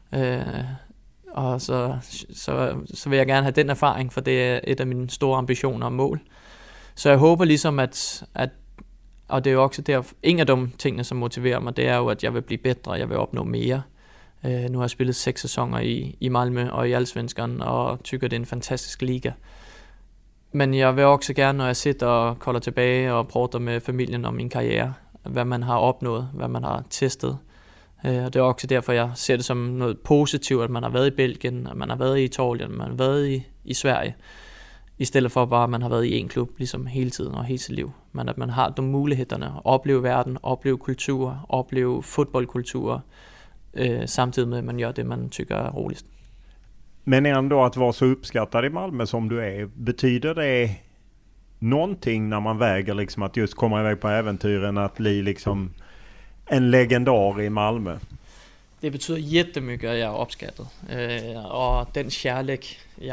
Og så vil jeg gerne have den erfaring, for det er et af mine store ambitioner og mål. Så jeg håber ligesom, at og det er jo også der, en af de tingene, som motiverer mig, det er jo, at jeg vil blive bedre, jeg vil opnå mere. Nu har jeg spillet 6 sæsoner i Malmö og i Allsvenskan, og tykker, det er en fantastisk liga. Men jeg vil også gerne, når jeg sitter og kolder tilbage og prater med familien om min karriere, hvad man har opnået, hvad man har testet. Og det er også derfor, jeg ser det som noget positivt, at man har været i Belgien, at man har været i Italien, at man har været i Sverige, i stedet for bare, at man har været i en klub ligesom hele tiden og hele sit liv. Men at man har de mulighederne at opleve verden, opleve kultur, opleve fodboldkultur, samtidig med, at man gør det, man tycker är roligst. Men ändå att vara så uppskattad i Malmö som du är, betyder det någonting när man väger liksom att just komma iväg på äventyren, att bli liksom en legendar i Malmö? Det betyder jättemycket, at jeg er opskattet. Og den kærlighed,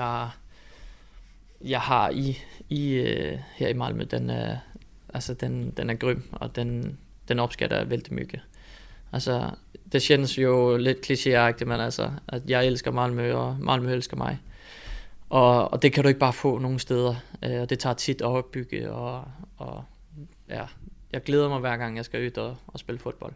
jeg har her i Malmö, den er grym, og den opskatter jeg vældig mycket. Altså, det känns jo lidt klichéagtigt, men altså, at jeg elsker Malmö, og Malmö elsker mig. Og det kan du ikke bare få nogen steder, og det tager tit at opbygge, og ja, jeg glæder mig hver gang, jeg skal ud og spille fodbold.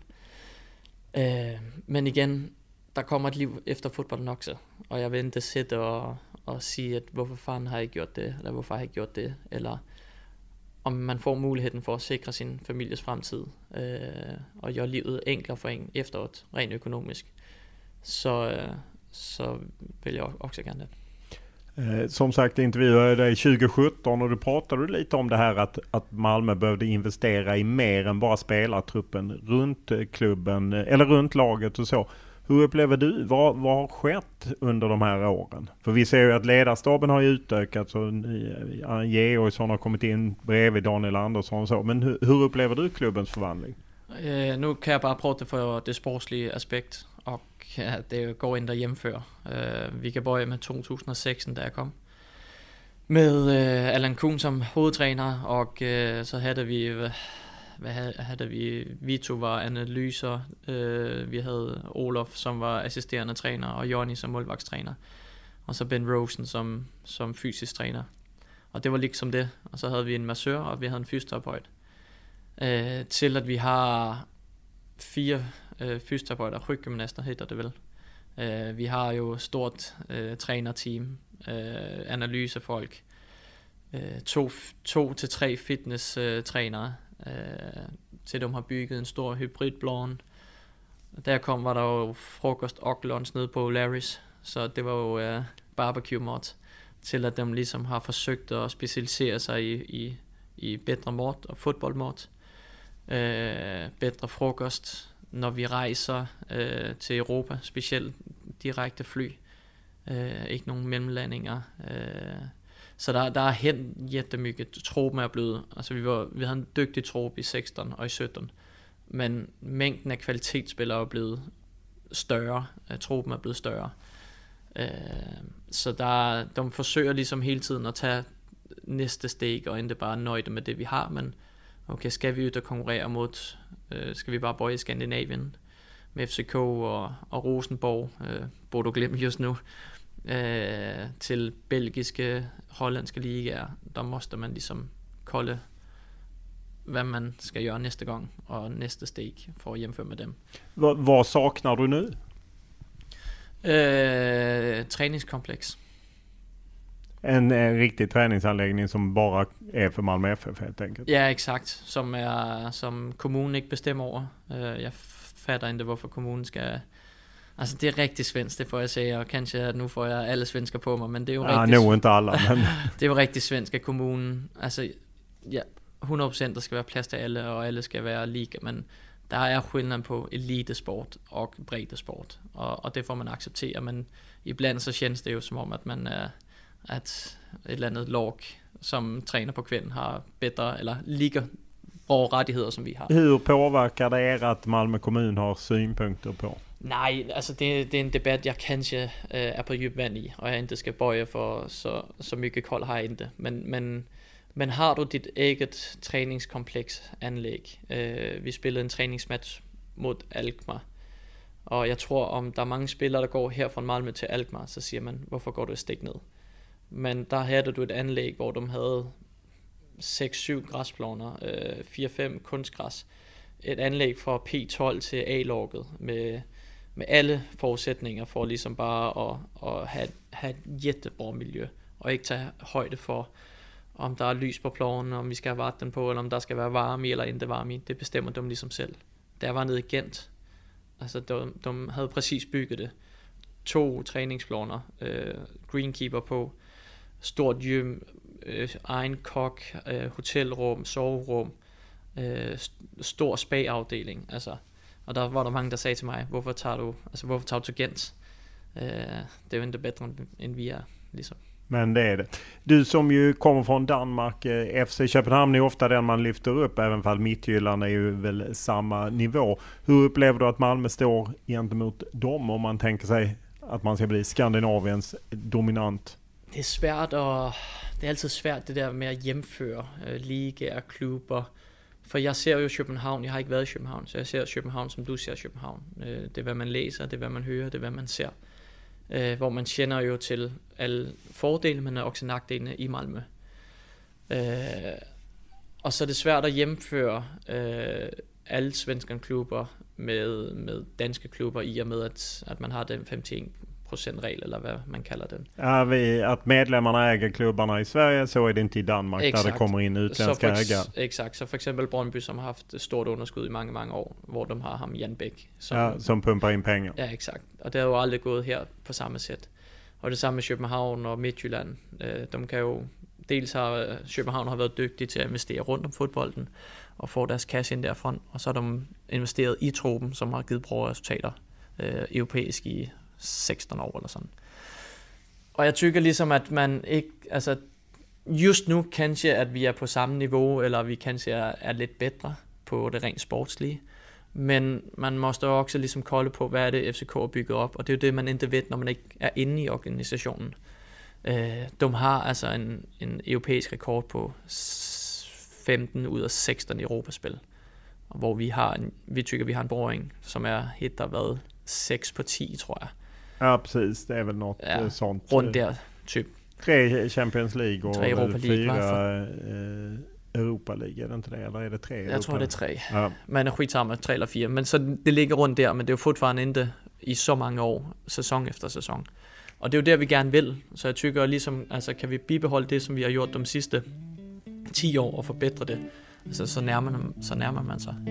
Men igen, der kommer et liv efter fodbolden også, og jeg vil ikke sætte og sige, at hvorfor fanden har jeg gjort det, eller hvorfor har jeg gjort det, eller om man får muligheden for at sikre sin families fremtid, og gøre livet enklere for en efteråt, rent økonomisk, så vil jeg också gerne det. Som sagt, intervjuade dig 2017 och du pratade lite om det här att Malmö behövde investera i mer än bara spelartruppen runt klubben eller runt laget och så. Hur upplever du? Vad har skett under de här åren? För vi ser ju att ledarstaben har ju utökat, så Georgsson har kommit in bredvid Daniel Andersson och så. Men hur upplever du klubbens förvandling? Nu kan jag bara prata för det sportslige aspekt, och det går inte att jämföra. Vi kan börja med 2016, där jag kom. Med Allan Kuhn som hovedtræner, og så havde vi Vito var analyser, vi havde Olof som var assisterende træner, og Johnny som målvagtstræner, og så Ben Rosen som fysisk træner. Og det var liksom det, og så havde vi en massør, og vi havde en fysioterapeut. Til at vi har 4 fysioterapeuter, ryggymnaster hedder det vel. Vi har jo stort trænerteam, analysefolk, 2 til 3 fitness trænere, til de har bygget en stor hybridblån. Der var der jo frokost og lunch nede på Larry's, så det var jo barbecue mat, til at de ligesom har forsøgt at specialisere sig i bedre mat og fodboldmat, bedre frokost, når vi rejser til Europa, specielt direkte fly, ikke nogen mellemlandinger. Så der er hen jättemycket. Truppen er blevet, altså vi havde en dygtig truppe i 16 og i 17, men mængden af kvalitetsspillere er blevet større. Truppen er blevet større. Så de forsøger ligesom hele tiden at tage næste steg, og ikke bare nøjde med det vi har, men okay, skal vi ud og konkurrere mod, skal vi bare bøje i Skandinavien med FCK og Rosenborg, Bodo Glimt just nu, til belgiske, hollandske ligaer, der måste man ligesom kolde, hvad man skal gøre næste gang, og næste steg for at hjemføre med dem. Vad saknar du nu? Träningskomplex. En riktig träningsanläggning som bara är för Malmö FF helt enkelt. Ja, exakt. Som kommunen ikke bestemmer over. Jeg fatter ikke, hvorfor kommunen skal... Altså, det er rigtig svensk, det får jeg sige, og kanskje at nu får jeg alle svensker på mig, men det er jo rigtig... Ja, nu inte alla, men... det er jo rigtig svensk af kommunen. Altså, ja, 100% der skal være plads til alle, og alle skal være lige, men der er skillnad på elitesport og breddesport, og det får man acceptere, men ibland så känns det jo som om, at man er... at et eller andet lag, som træner på kvinden, har bedre eller lige bra rettigheder, som vi har. Hur påverkar det er, at Malmö kommun har synpunkter på? Nej, altså det er en debat, jeg kanskje er på dyb vand i, og jeg ikke skal bøje for så mycket kold har jeg ikke. Men har du dit eget træningskompleks anlæg? Vi spillede en træningsmatch mod Alkmaar, og jeg tror, om der er mange spillere, der går her fra Malmö til Alkmaar, så siger man, hvorfor går du et stik ned? Men der havde du et anlæg, hvor de havde 6-7 græsplæner, 4-5 kunstgræs. Et anlæg fra P12 til A-laget med alle forudsætninger for ligesom bare at have et jättebra miljø, og ikke tage højde for om der er lys på ploven, om vi skal have vatten på, eller om der skal være varme i eller ikke varme i. Det bestemmer de ligesom selv. Da jeg var nede i Gent, altså de havde præcis bygget det. 2 træningsplaner, greenkeeper på, stort gym, egen kok, hotelrum, soverum, stor spa-afdeling, altså. Og der var der mange, der sagde til mig, hvorfor tager du til Gent? Det er jo ikke bedre, end vi er, ligesom. Men det är det. Du som ju kommer från Danmark, FC Köpenhamn är ofta den man lyfter upp, även fall Midtjylland är ju väl samma nivå. Hur upplever du att Malmö står gentemot dem om man tänker sig att man ska bli Skandinaviens dominant? Det är svært, og det er altid svært det der med at hjemføre ligaer, klubber. For jeg ser jo København, jeg har ikke været i København, så jeg ser København, som du ser København. Det er, hvad man læser, det er, hvad man hører, det er, hvad man ser. Hvor man kender jo til alle fordele, men også nackdelene i Malmö. Og så er det svært at hjemføre alle svenske klubber med danske klubber, i og med at man har den 51%-regel, eller hvad man kalder den. Att medlemmarna äger klubbarna i Sverige, så är det inte i Danmark, exakt. Där det kommer in utländska ägare. Exakt, så for eksempel Brøndby, som har haft stort underskud i mange, mange år, hvor de har ham Jan Bæk. Som pumpar in pengar. Ja, exakt. Og det har jo aldrig gået her på samme sæt. Og det samme med København og Midtjylland. De kan jo, dels har København har været dygtige til at investere rundt om fodbolden, og få deres cash ind derfra, og så har de investeret i truppen, som har givet bra resultater europæisk i 16 år eller sådan. Og jeg tykker ligesom, at man ikke, altså just nu kanskje, at vi er på samme niveau, eller vi kanskje er lidt bedre på det rent sportslige, men man måste også ligesom kolde på, hvad er det FCK er bygget op, og det er jo det, man ikke ved, når man ikke er inde i organisationen. De har altså en europæisk rekord på 15 ud af 16 Europaspil, hvor vi tykker, vi har en boring, som er helt der været 6 på 10, tror jeg. Ja, precis. Det är väl något sånt. Runt där, typ. 3 Champions League och 3 Europa League, 4 Europa League, är det inte det? Eller är det 3? Jag tror det är 3. Ja. Men skitsamma, 3 eller 4. Men så det ligger rundt der, men det er jo fortfarande inte i så mange år, sæson efter sæson. Og det er jo der, vi gerne vil. Så jeg tykker ligesom, altså kan vi bibeholde det, som vi har gjort de sidste 10 år, og forbedre det, altså så nærmer man sig.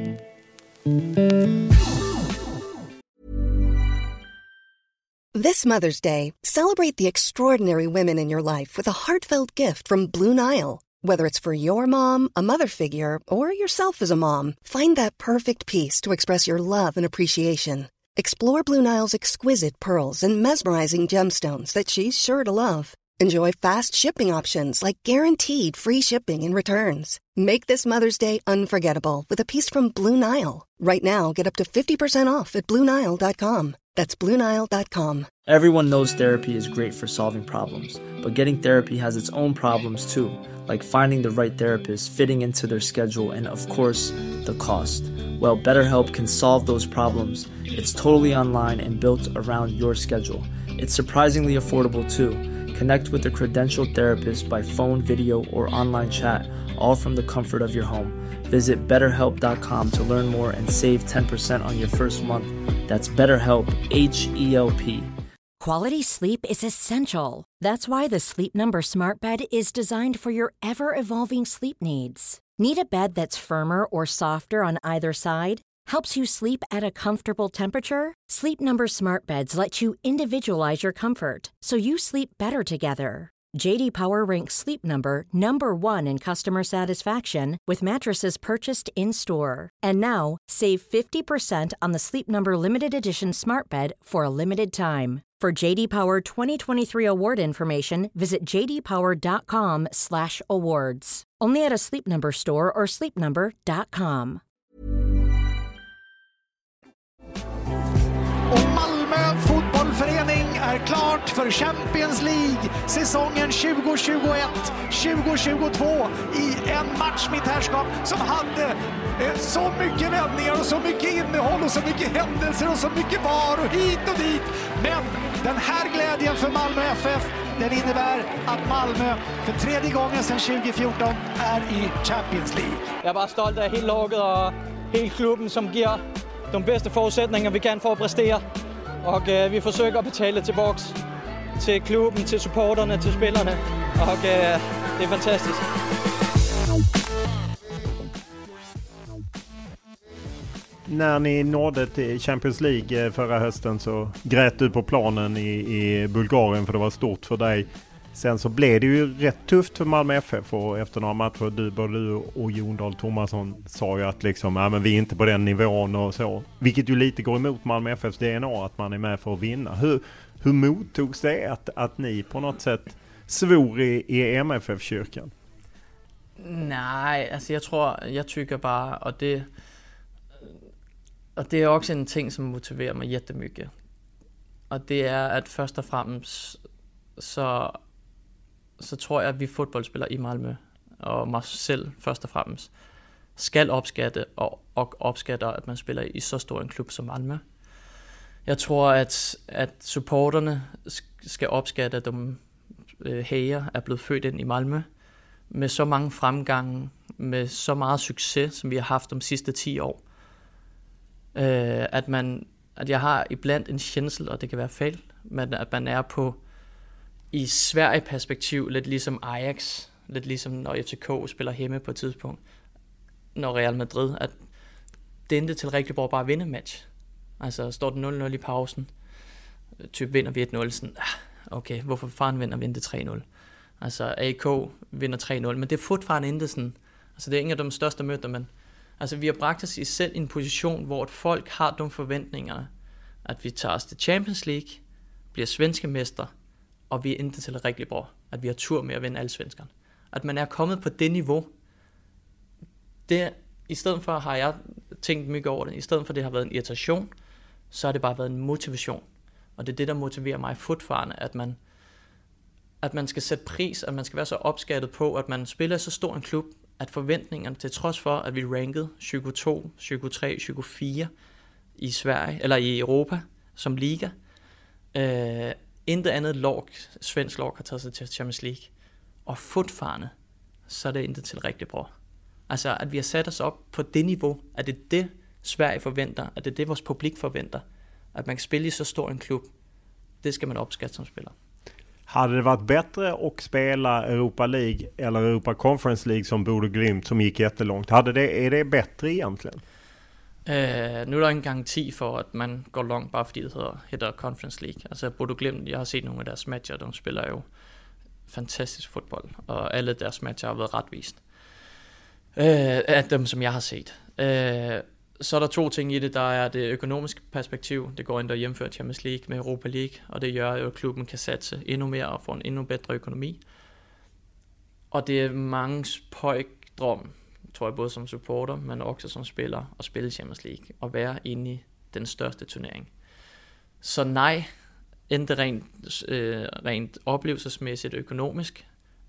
This Mother's Day, celebrate the extraordinary women in your life with a heartfelt gift from Blue Nile. Whether it's for your mom, a mother figure, or yourself as a mom, find that perfect piece to express your love and appreciation. Explore Blue Nile's exquisite pearls and mesmerizing gemstones that she's sure to love. Enjoy fast shipping options like guaranteed free shipping and returns. Make this Mother's Day unforgettable with a piece from Blue Nile. Right now, get up to 50% off at BlueNile.com. That's BlueNile.com. Everyone knows therapy is great for solving problems, but getting therapy has its own problems too, like finding the right therapist, fitting into their schedule, and of course, the cost. Well, BetterHelp can solve those problems. It's totally online and built around your schedule. It's surprisingly affordable too. Connect with a credentialed therapist by phone, video, or online chat, all from the comfort of your home. Visit BetterHelp.com to learn more and save 10% on your first month. That's BetterHelp, H-E-L-P. Quality sleep is essential. That's why the Sleep Number Smart Bed is designed for your ever-evolving sleep needs. Need a bed that's firmer or softer on either side? Helps you sleep at a comfortable temperature? Sleep Number Smart Beds let you individualize your comfort, so you sleep better together. J.D. Power ranks Sleep Number #1 in customer satisfaction with mattresses purchased in-store. And now, save 50% on the Sleep Number Limited Edition Smart Bed for a limited time. For J.D. Power 2023 award information, visit jdpower.com/awards. Only at a Sleep Number store or sleepnumber.com. Och Malmö fotbollförening är klart för Champions League säsongen 2021-2022 i en match med herrskap som hade så mycket vändningar och så mycket innehåll och så mycket händelser och så mycket var och hit och dit. Men den här glädjen för Malmö FF, den innebär att Malmö för 3:e gången sedan 2014 är i Champions League. Jag är bara stolt av hela laget och hela klubben som ger de bedste forudsætninger, vi kan for at præstere. Og vi forsøger at betale tilbage til klubben, til supporterne, til spillerne. Og Det är fantastiskt. När ni nådde till Champions League förra hösten så grät du på planen i Bulgarien för det var stort för dig. Sen så blev det ju rätt tufft för Malmö FF och efter några matcher både du och Jon Dahl Tomasson sa ju att liksom, men vi är inte på den nivån och så. Vilket ju lite går emot Malmö FFs DNA att man är med för att vinna. Hur mottogs det att ni på något sätt svor i MFF-kyrkan? Nej, alltså jag tycker bara, och det är också en ting som motiverar mig jättemycket. Och det är att först och fremmest så tror jeg, at vi fodboldspillere i Malmö, og mig selv først og fremmest, skal opskatte og opskatter, at man spiller i så stor en klub som Malmö. Jeg tror, at supporterne skal opskatte, at de hæger er blevet født ind i Malmö, med så mange fremgange, med så meget succes, som vi har haft de sidste 10 år. At jeg har iblandt en kjensel, og det kan være fejl, men at man er på i Sverige-perspektiv, lidt ligesom Ajax, lidt ligesom når FCK spiller hjemme på et tidspunkt, når Real Madrid, at det endte til Reykjavik bare at vinde match. Altså står det 0-0 i pausen, typ vinder vi 1-0, sådan, okay, hvorfor fanden vinder vi ikke 3-0? Altså AK vinder 3-0, men det er fortfarande ikke sådan, altså det er ingen af de største møder, men altså vi har bragt os i selv i en position, hvor et folk har de forventninger, at vi tager os til Champions League, bliver svenske mester, og vi er ikke til rigtig bra, at vi har tur med at vinde alle svenskerne. At man er kommet på det niveau, det, i stedet for har jeg tænkt mye over det, i stedet for det har været en irritation, så har det bare været en motivation. Og det er det, der motiverer mig fortfarande, at man skal sætte pris, at man skal være så opskattet på, at man spiller så stor en klub, at forventningerne, til trods for, at vi rankede 22, 23, 24 i Sverige, eller i Europa som liga, intet andet svensk lag har taget sig til Champions League. Og fortfarande, så er det intet til rigtig bra. Altså, at vi har sat os op på det niveau, at det er det, Sverige forventer, at det er det, vores publik forventer, at man kan spille i så stor en klub, det skal man opskatte som spiller. Hade det varit bättre att spela Europa League eller Europa Conference League som Bodø Glimt som gick jättelångt? Är det bättre egentligen? Nu er der en garanti for, at man går langt, bare fordi det hedder Conference League. Altså Bodø Glimt, jeg har set nogle af deres matcher, de spiller jo fantastisk fodbold, og alle deres matcher har været retvist. Af dem, som jeg har set. Så er der 2 ting i det. Der er det økonomiske perspektiv. Det går ind og hjemfører Champions League med Europa League, og det gør jo, at klubben kan satse endnu mere og få en endnu bedre økonomi. Og det er mange pøjkdrøm, tror jeg, både som supporter, men også som spiller, at spille Champions League og være inde i den største turnering. Så nej, endte rent oplevelsesmæssigt økonomisk,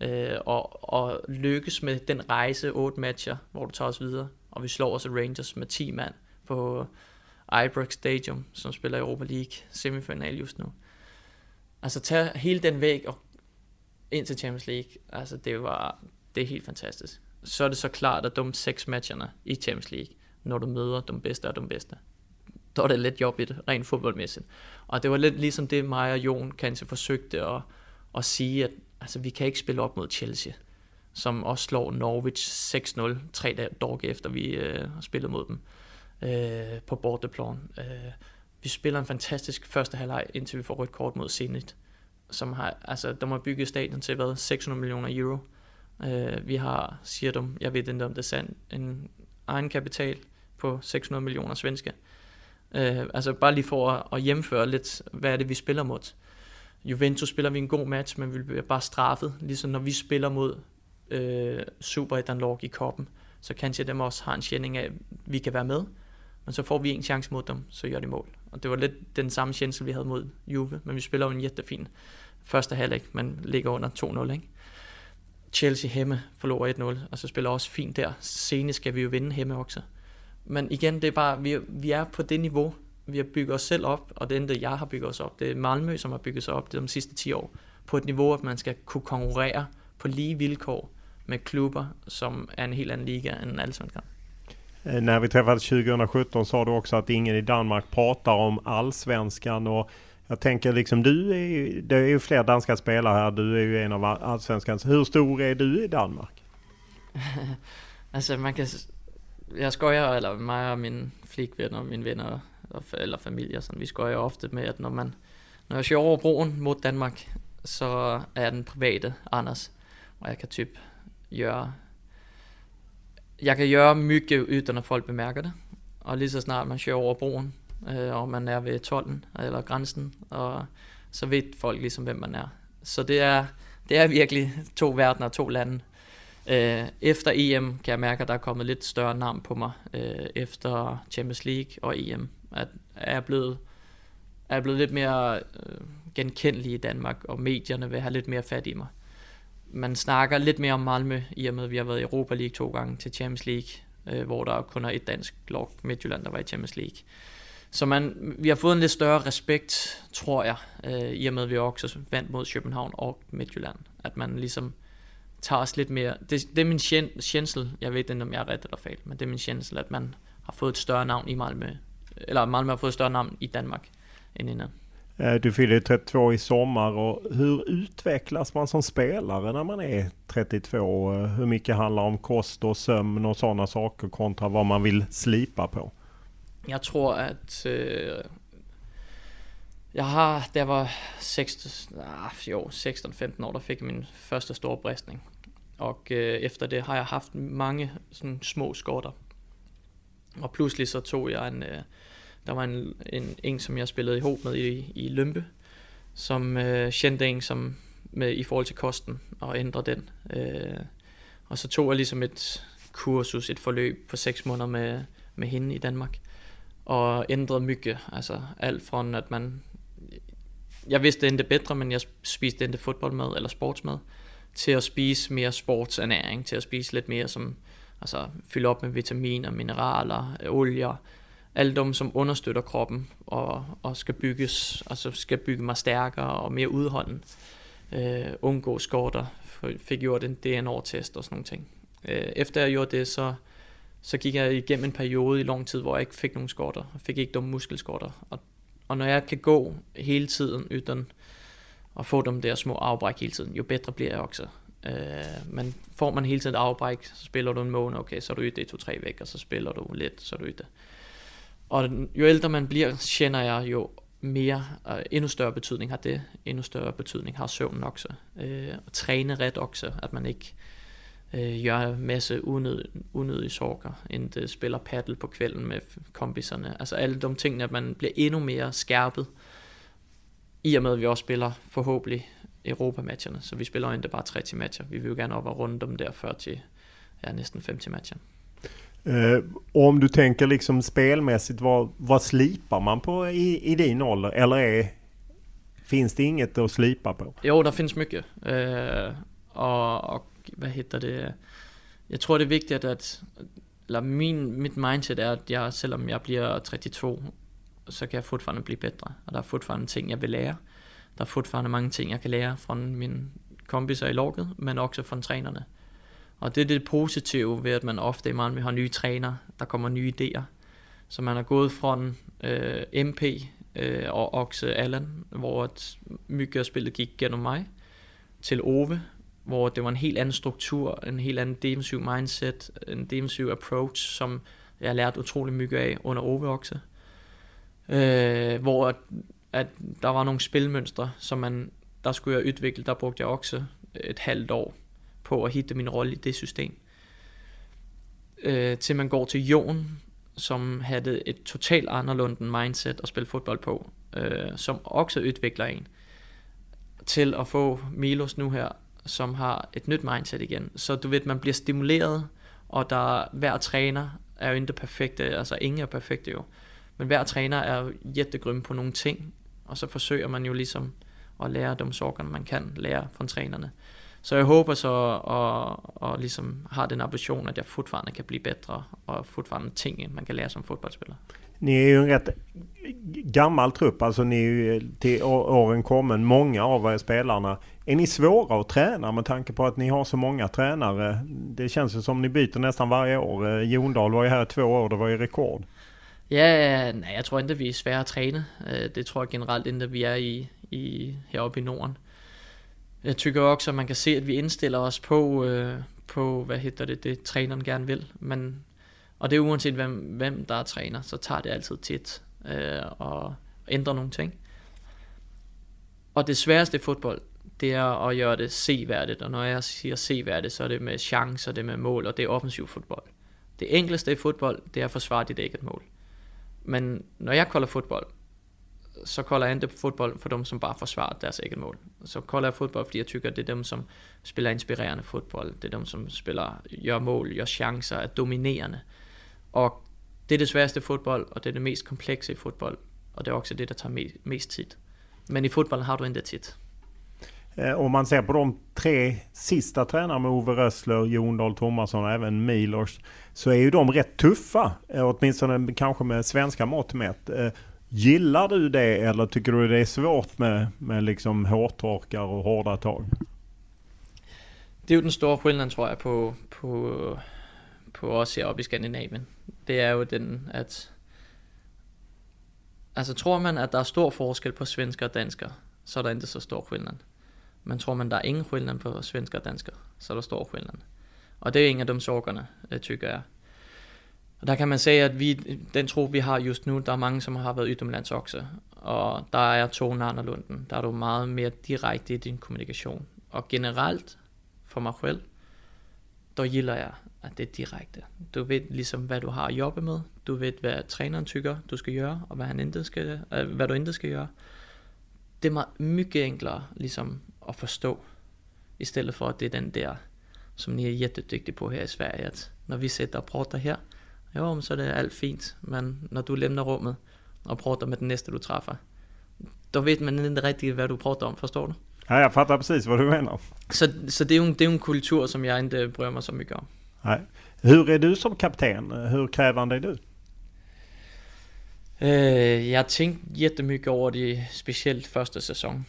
og lykkes med den rejse 8 matcher, hvor du tager os videre, og vi slår os Rangers med 10 mand på Ibrox Stadium, som spiller Europa League semifinal just nu. Altså tage hele den væg og ind til Champions League, altså det er helt fantastisk. Så er det så klart, at de 6 matcherne i Champions League, når du møder de bedste af de bedste, der er det lidt jobbigt, rent fodboldmæssigt. Og det var lidt ligesom det, mig og Jon kanskje forsøgte at sige, at altså, vi kan ikke spille op mod Chelsea, som også slår Norwich 6-0, 3 dage efter vi har spillet mod dem på borteplan. Vi spiller en fantastisk første halvleg, indtil vi får rødt kort mod Zenit, som har, altså, de har bygget stadion til 600 millioner euro. Vi har, siger de, jeg ved ikke om det er sandt, en egenkapital på 600 millioner svenske. Altså bare lige for at hjemføre lidt, hvad er det vi spiller mod. Juventus spiller vi en god match, men vi bliver bare straffet, ligesom når vi spiller mod Superettan-lag i koppen, så kanskje dem også har en kjenning af, at vi kan være med, men så får vi en chance mod dem, så gør de mål. Og det var lidt den samme kjensel, vi havde mod Juve, men vi spiller jo en jättefin første halvleg, man ligger under 2-0, ikke? Chelsea hjemme forlorer 1-0, og så spiller også fint der. Senest skal vi jo vinde hjemme også. Men igen, det er bare, vi er på det niveau, vi har bygget os selv op, og det er det, jeg har bygget os op. Det er Malmö, som har bygget sig op de sidste 10 år, på et niveau, at man skal kunne konkurrere på lige vilkår med klubber, som er en helt anden liga end Allsvenskan. När vi träffades 2017 sa du också att ingen i Danmark pratar om Allsvenskan, och Jag tänker liksom, det är ju fler danska spelare här. Du är ju en av allsvenskans. Hur stor är du i Danmark? Alltså jag skojar, eller mig og min flikven og mine venner eller familie, sådan, vi skojar ofte med, at når jeg kører over broen mod Danmark, så er jeg den private Anders, og jeg kan gøre mycket uden at folk bemærker det, og lige så snart man kører over broen, og man er ved tolden eller grænsen, og så ved folk ligesom hvem man er. Så det er virkelig 2 verdener, 2 lande. Efter EM kan jeg mærke, at der er kommet lidt større navn på mig efter Champions League og EM. At er blevet lidt mere genkendelig i Danmark, og medierne vil have lidt mere fat i mig. Man snakker lidt mere om Malmö, i og med at vi har været i Europa League 2 gange til Champions League, hvor der kun er et dansk lag, Midtjylland, der var i Champions League. Så vi har fået en lidt større respekt, tror jeg, i og med at vi også vandt mod København og Midtjylland. At man ligesom tager os lidt mere. Det er min kjensel, jeg ved ikke, om jeg er ret eller fejl, men det er min kjensel, at man har fået et større navn i Malmö, eller Malmö har fået et større navn i Danmark end innan. Du fyller 32 i sommar, och hur utvecklas man som spelare när man är 32? Hur mycket handlar om kost och sömn och sådana saker kontra vad man vill slipa på? Jeg tror, at da jeg var 16-15 år, der fik jeg min første store bristning. Og efter det har jeg haft mange sådan små skorter. Og pludselig så tog jeg der var en som jeg spillede i håb med i Lømpe, som kendte en som med i forhold til kosten og ændre den. Og så tog jeg ligesom et kursus, et forløb på 6 måneder med hende i Danmark. Og ændrede mycket, altså alt fra at jeg vidste endte bedre, men jeg spiste endte fodboldmad eller sportsmad, til at spise mere sportsernæring, til at spise lidt mere som, altså fylde op med vitaminer, mineraler, olier, alle dem som understøtter kroppen og skal bygges, altså skal bygge mig stærkere og mere udholden. Undgå skorter, fik gjort en DNA-test og sådan nogle ting. Efter jeg gjorde det, så gik jeg igennem en periode i lang tid, hvor jeg ikke fik nogen skorter. Jeg fik ikke dumme muskelskorter. Og når jeg kan gå hele tiden uden at få dem der små afbræk hele tiden, jo bedre bliver jeg også. Men får man hele tiden afbræk, så spiller du en måned, okay, så er du i det 2-3 væk, og så spiller du lidt, så er du i det. Og jo ældre man bliver, kender jeg jo mere, endnu større betydning har det, endnu større betydning har søvnen også. Og træne ret også, at man ikke gør en masse unødige sorger, end det spiller paddle på kvælden med kompiserne. Altså alle de ting, at man bliver endnu mere skærpet, i og med at vi også spiller forhåbentlig Europa-matcherne, så vi spiller jo ikke bare 30 matcher. Vi vil jo gerne op og runde dem der 40, næsten 50 matcher. Och om du tänker liksom spelmässigt, vad slipar man på i din ålder? Eller finns det inget att slipa på? Jo, der finns mycket. Og hvad heter det? Jeg tror det er vigtigt mit mindset er, at selvom jeg bliver 32, så kan jeg fortfarande blive bedre. Og der er fortfarande ting jeg vil lære. Der er fortfarande mange ting jeg kan lære fra mine kompiser i laget, men også fra trænerne. Og det er det positive ved, at man ofte i Malmö har nye træner, der kommer nye idéer. Så man er gået fra MP og også Allan, hvor mycket af spillet gik gennem mig, til Ove, hvor det var en helt anden struktur, en helt anden defensiv mindset, en defensiv approach, som jeg lærte utrolig mycket af under Ove også. Hvor at der var nogle spilmønstre, som der skulle jeg udvikle, der brugte jeg også et halvt år på at hitte min rolle i det system. Til man går til Jon, som havde et totalt anderledes mindset at spille fodbold på, som også udvikler en, til at få Milos nu her, som har et nyt mindset igen. Så du ved, man bliver stimuleret, og hver træner er jo ikke perfekte, altså ingen er perfekte jo, men hver træner er jo jättegrym på nogle ting, og så forsøger man jo ligesom at lære de sorger, man kan lære fra trænerne. Så jeg håber så og ligesom har den ambition, at jeg fortfarande kan blive bedre, og fortfarande ting, man kan lære som fodboldspiller. Ni är ju en rätt gammal trupp, alltså ni är ju till åren kommen, många av er spelarna. Är ni svåra att träna med tanke på att ni har så många tränare? Det känns ju som ni byter nästan varje år. Jondal var ju här 2 år, det var ju rekord. Ja, nej, jeg tror ikke, at vi er svære at træne. Det tror jeg generelt ikke, at vi er heroppe i Norden. Jeg tykker også, at man kan se, at vi indstiller os på det træneren gerne vil. Og det er uanset hvem der er træner, så tager det altid tit og ændrer nogle ting. Og det sværeste i fodbold, det er at gøre det seværdigt. Og når jeg siger seværdigt, så er det med chancer, det er med mål, og det er offensiv fodbold. Det enkleste i fodbold, det er at forsvare dit eget mål. Men når jeg kolder fodbold, så kolder jeg ikke fodbold for dem, som bare forsvarer deres eget mål. Så kolder jeg fodbold, fordi jeg tykker, det er dem, som spiller inspirerende fodbold. Det er dem, som gør mål, gør chancer, er dominerende. Og det er det sværeste i fodbold, og det er det mest komplekse i fodbold. Og det er også det, der tager mest tid. Men i fodbold har du inte tid. Om man ser på de 3 sista tränarna med Ove Rössler, Jon Dahl Tomasson och även Milos, så är ju de rätt tuffa, åtminstone kanske med svenska mått mätt. Gillar du det, eller tycker du det är svårt med liksom hårtorkar och hårda tag? Det er jo den store skillnad, tror jeg, på os heroppe i Skandinavien. Det er jo den, at altså tror man, at der er stor forskel på svensker og dansker, så er der ikke så stor skillnad. Men tror man, der er ingen skillnad på svensker og dansker, så er der stor skillnad. Og det er ingen af de sorgerne, tykker jeg. Og der kan man sige, at den tro, vi har just nu, der er mange, som har været utomlands også. Og der er tonen anderledes. Der er du meget mere direkte i din kommunikation. Og generelt, for mig selv, der gilder jeg, at det er direkte. Du ved ligesom, hvad du har at jobbe med. Du ved, hvad træneren tykker, du skal gøre, og hvad du ikke skal gøre. Det er mycket enklere ligesom at forstå, i stedet for at det er den der, som ni er jättedygtige på her i Sverige, at når vi sætter og prater her, jo, så er det alt fint, men når du læmner rummet og prater med den næste, du træffer, då vet man ikke rigtigt, hvad du prater om, forstår du? Ja, jag fattar precis vad du menar. Så det är ju en kultur som jag inte bryr mig så mycket om. Nej. Hur är du som kapten? Hur krävande är du? Jeg har tænkt jättemycket over det, specielt første sæson.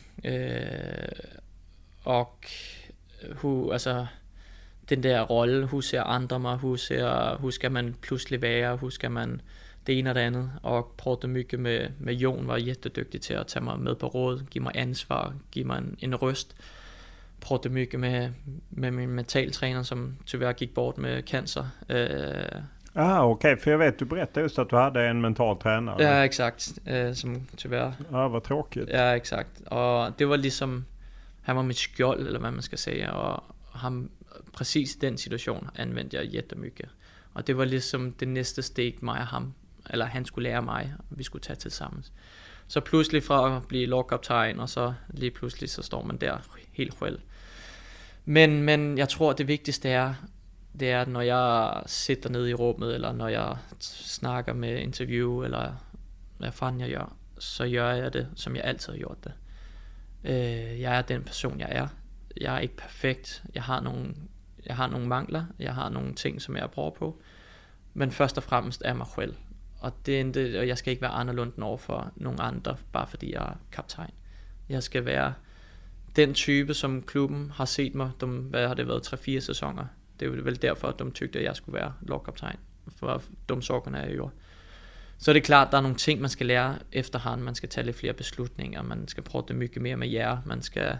Og altså den der rolle, hur ser andre mig, hur skal man pludselig være, hur skal man det ene og det andet. Og prøvede mycket med Jon, var jättedygtig til at tage mig med på råd, give mig ansvar, give mig en røst. Prøvede mycket med min mentaltræner, som tyvärr gik bort med cancer. Okej, för jag vet, du berättade just att du hade en mental tränare. Ja, exakt, som tyvärr. Ja, vad tråkigt. Ja, exakt. Och det var liksom, han var mit skjold, eller hvad man skal sige, og ham, præcis den situation anvendte jeg jättemycket. Og det var ligesom det næste steg, mig og ham, eller han skulle lære mig, og vi skulle tage til sammen. Så pludselig fra at blive lagkaptajn, og så lige pludselig, så står man der helt selv. Men jeg tror, det vigtigste er, det er, når jeg sitter nede i rummet, eller når jeg snakker med interview, eller hvad fanden jeg gør, så gør jeg det, som jeg altid har gjort det. Jeg er den person, jeg er. Jeg er ikke perfekt. Jeg har nogle mangler. Jeg har nogle ting, som jeg bruger på. Men først og fremmest er mig selv. Og jeg skal ikke være anderledes over for nogle andre, bare fordi jeg er kaptajn. Jeg skal være den type, som klubben har set mig. Hvad har det været? 3-4 sæsoner. Det er vel derfor, at de tykte, at jeg skulle være lagkaptajn. For de sorgerne er jo. Så er det klart, at der er nogle ting, man skal lære efterhånden. Man skal tage lidt flere beslutninger. Man skal prøve det mycket mere med jer. Man skal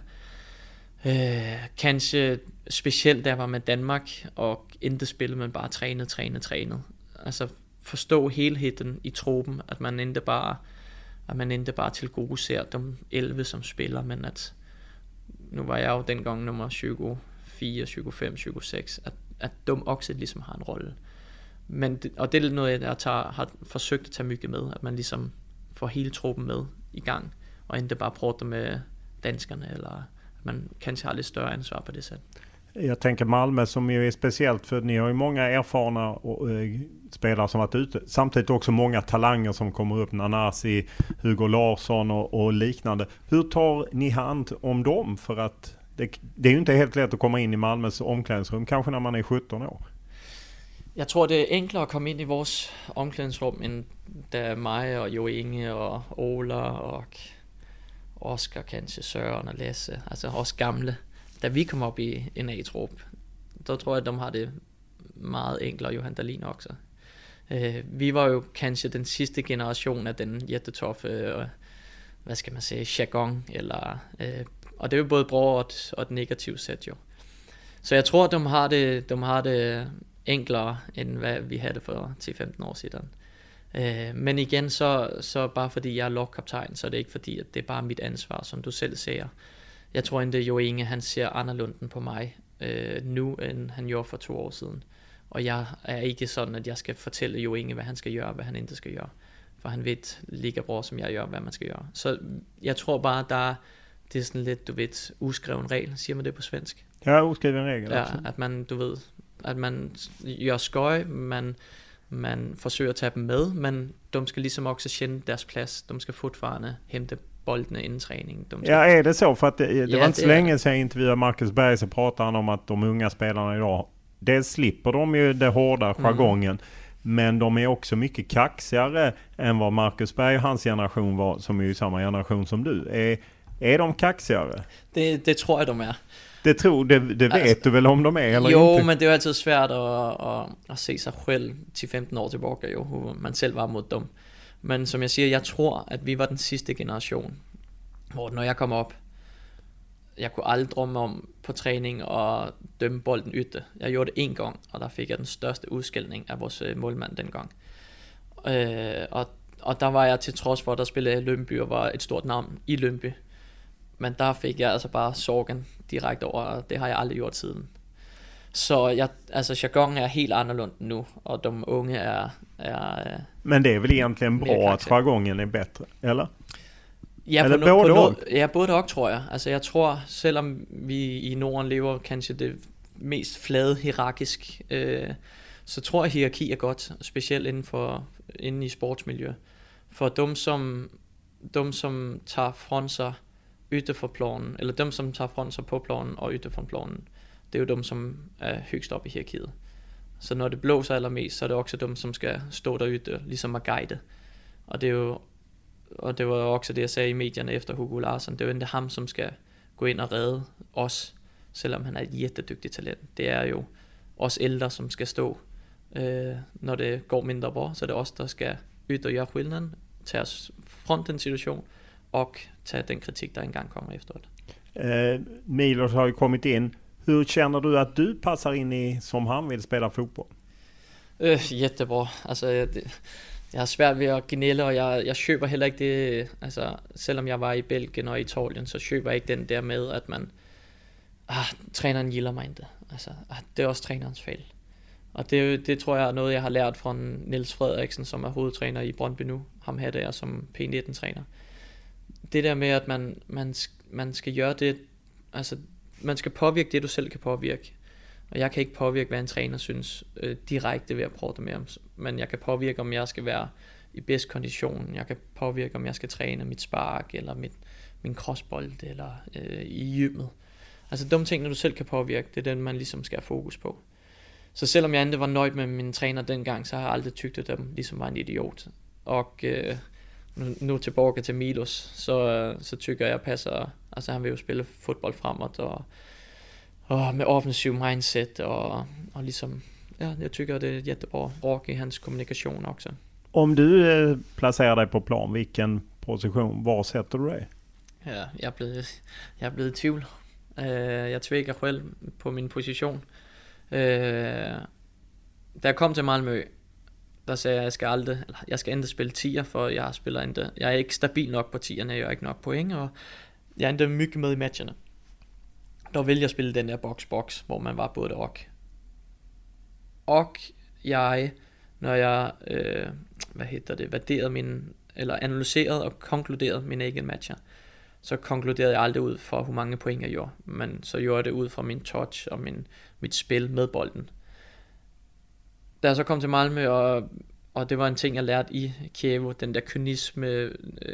kanskje specielt, da jeg var med Danmark, og ikke spille, men bare træne. Altså forstå helheden i truppen, at man ikke bare til gode ser de 11, som spiller, men at nu var jeg jo dengang nummer 24, 25, 26, at de også ligesom har en rolle. Og det er noget, jeg har forsøgt at tage mycket med, at man ligesom får hele truppen med i gang, og ikke bare prater med danskerne, eller at man kanskje har lidt større ansvar på det sæt. Jag tänker Malmö som ju är speciellt, för ni har ju många erfarna spelare som varit ute. Samtidigt också många talanger som kommer upp, Nanasi, Hugo Larsson och liknande. Hur tar ni hand om dem? För att det är ju inte helt lätt att komma in i Malmös omklädningsrum, kanske när man är 17 år. Jeg tror, det er enklere at komme ind i vores omklædningsrum, end da mig og Jo Inge og Ola og Oscar, kanskje Søren og Lasse, altså også gamle. Da vi kom op i en A-trup, der tror jeg, at de har det meget enklere, Johan Dahlin også. Vi var jo kanskje den sidste generation af den jättetoffe, hvad skal man sige, jargon, eller, og det er jo både bra og et negativt sæt jo. Så jeg tror, de har det enklere, end hvad vi havde for 10-15 år siden. Men igen, så bare fordi jeg er lagkaptajn, så er det ikke fordi, at det er bare mit ansvar, som du selv siger. Jeg tror ikke, Jo Inge, han ser anderledes på mig nu, end han gjorde for 2 år siden. Og jeg er ikke sådan, at jeg skal fortælle Jo Inge, hvad han skal gøre, og hvad han ikke skal gøre. For han ved lige bra som jeg gør, hvad man skal gøre. Så jeg tror bare, det er sådan lidt, du ved, uskreven regel. Siger man det på svensk? Ja, uskreven regel. Ja, at man, du ved, at man gør skøj, man forsøger at tage dem med, men de skal ligesom også kende deres plads. De skal fortfarande hente boldene inden träning. Ja, är det så? För att det var inte så länge sedan jag intervjuade Marcus Berg, så pratade han om att de unga spelarna idag, dels slipper de ju det hårda jargongen, men de är också mycket kaxigare än vad Marcus Berg och hans generation var, som är ju samma generation som du. Är de kaxigare? Det tror jag de är. Det vet du väl om de är eller jo, inte? Men det är alltid svært at se sig själv 10-15 år tillbaka, jo, hur man selv var mod dem. Men som jeg siger, jeg tror, at vi var den sidste generation, hvor når jeg kom op, jeg kunne aldrig drømme om på træning og dømme bolden ytte. Jeg gjorde det 1 gang, og der fik jeg den største udskældning af vores målmand dengang. Og der var jeg til trods for, at der spillede Lønby og var et stort navn i Lønby. Men der fik jeg altså bare sorgen direkte over, og det har jeg aldrig gjort siden. Så jargon är helt annorlunda nu, och de unga är men det är väl egentligen bra att jargongen är bättre, eller? Ja, eller både och tror jag. Altså jag tror, selvom vi i Norden lever kanskje det mest flade hierarkisk, så tror jeg hierarki er godt, specielt inden i sportsmiljø. For dem som tager fra sig ytter for planen, eller dem som tager fra sig på planen og ytter fra planen, det er jo dem, som er højst op i hierarkiet. Så når det blåser allermest, så er det også dem, som skal stå der ytter, ligesom at guide. Og det var også det, jeg sagde i medierne efter Hugo Larsson. Det er jo ikke ham, som skal gå ind og redde os, selvom han er et jättedygtigt talent. Det er jo os ældre, som skal stå, når det går mindre bra. Så det er os, der skal ytte og gøre skillnaden, tage os front den situation, og tage den kritik, der engang kommer efteråt. Milos har ju kommit in. Hur känner du att du passar in i som han vill spela fotboll? Jättebra. Altså, jeg har svært ved at gnælle, og jeg køber heller ikke det, altså selvom jeg var i Belgien og Italien, så køber jeg ikke den der med, at man, træneren gilder mig ikke. Altså, det er også trænerens fejl. Og det tror jeg er noget, jeg har lært fra Niels Frederiksen, som er hovedtræner i Brøndby nu. Ham her der som P19-træner. Det der med, at man skal gøre det, altså man skal påvirke det, du selv kan påvirke. Og jeg kan ikke påvirke, hvad en træner synes direkte ved at prøve det med ham. Men jeg kan påvirke, om jeg skal være i bedst kondition. Jeg kan påvirke, om jeg skal træne mit spark, eller min crossbold, eller i gymmet. Altså de ting, du selv kan påvirke, det er den, man ligesom skal have fokus på. Så selvom jeg ikke var nøjd med min træner dengang, så har jeg aldrig tygtet dem, ligesom var en idiot. Og nu tilbage til Milos, så tykker jeg passer, altså han vil jo spille fodbold fremad, og med offensiv mindset, og ligesom, ja, jeg tycker det är jättebra rak i hans kommunikation också. Om du placerar dig på plan, vilken position, var sätter du dig? Ja, jag är blevet i tvivl. Jag tvekar själv på min position. Da jeg kom til Malmö, der sagde jeg skal ikke spille 10'er, for jeg er ikke stabil nok på 10'erne, jeg er ikke nok point, og jeg er ikke mycket med i matcherne. Der ville jeg spille den der box, hvor man var både og. Og jeg, når jeg analyserede og konkluderede mine egen matcher, så konkluderede jeg aldrig ud fra, hvor mange point jeg gjorde, men så gjorde jeg det ud fra min touch og mit spil med bolden. Da jeg så kom til Malmö, og det var en ting, jeg lærte i Kiev, den der kynisme,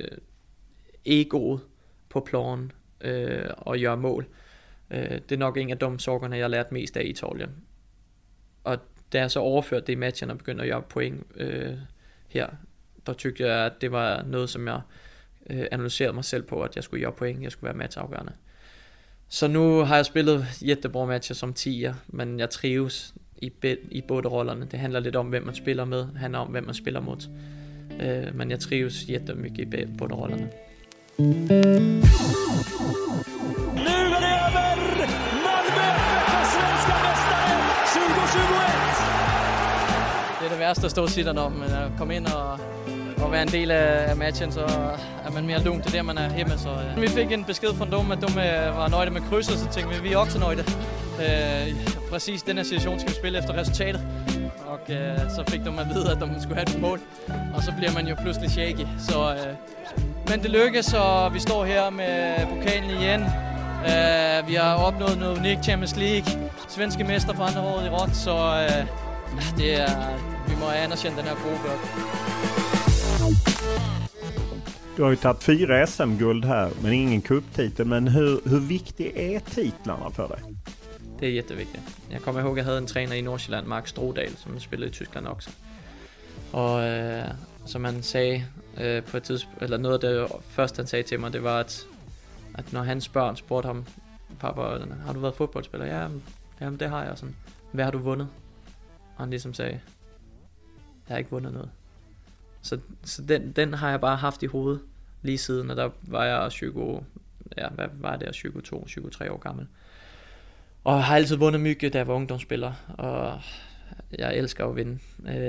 egoet på planen og gøre mål. Det er nok en af de sorgerne, jeg lærte mest af i Italien. Og da jeg så overførte det i matchen og begyndte at gøre point her, der tyckte jeg, at det var noget, som jeg analyserede mig selv på, at jeg skulle gøre point, jeg skulle være matchafgørende. Så nu har jeg spillet jättebra matcher som 10'er, men jeg trives i båda rollerne. Det handler lidt om, hvem man spiller med, det handler om, hvem man spiller mot. Men jag trivs jättemycket i båda rollerna. Nu är det över! Malmö är svenska mästare 2021! Det är det värsta att stå och sitta om, men att komma in och vara en del av matchen, så är man mer lugn till det man är hemma. Så vi fick en besked från dem att de var nöjda med krysset, så tänkte vi är också nöjda. Precis den här situation ska vi spela efter resultatet. Och så fick de att veta att de skulle ha ett mål. Och så blir man ju plötsligt shaky. Så, men det lyckas, och vi står här med pokalen igen. Vi har uppnått något unikt, Champions League. Svenska mästare för andra året i rad. Så vi må anerkänna den här gruppen. Du har ju tagit 4 SM-guld här, men ingen cuptitel. Men hur viktig är titlarna för dig? Det är jätteviktigt. Jag kommer ihåg att jag hade en tränare i Nordsjælland, Mark Strodal, som spelade i Tyskland också. Och som han sagde på ett tidspunkt, eller noget af det første han sagde til mig, det var at når hans børn spurgte ham, pappa, har du været fodboldspiller? Ja, jamen det har jeg. Sådan, hvad har du vundet? Og han ligesom sagde, jeg har ikke vundet noget. Så den har jeg bare haft i hovedet lige siden, og der var jeg 22-23 år gammel. Og jeg har altid vundet mycket, da jeg var ungdomsspiller, og jeg elsker at vinde.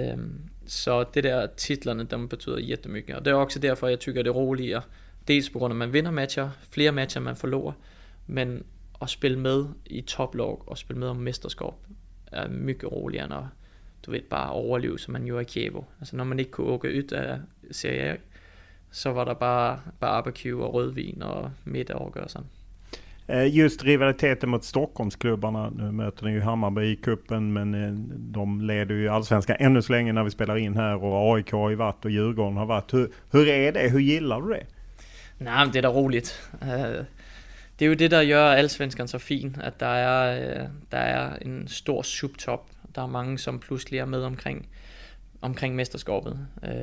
Så det der titlerne, dem betyder jättemycket. Og det er også derfor, jeg tykker det roligere. Dels på grund af, at man vinder matcher, flere matcher man forlorer, men at spille med i toplog og spille med om mesterskab er mycket roligere, end du ved, bare overleve, som man gjorde i Kievo. Altså når man ikke kunne åke ud af Serie A, så var der bare barbecue og rødvin og middag og sådan. Just rivaliteten mot Stockholmsklubbarna, nu möter ni ju Hammarby i kuppen, men de leder ju Allsvenskan ännu så länge när vi spelar in här, och AIK har ju varit och Djurgården har varit. Hur är det? Hur gillar du det? Nej, men det är da roligt. Det är ju det, der gør Allsvenskan så fin, at der er en stor subtop. Der er mange, som pludselig er med omkring mesterskabet.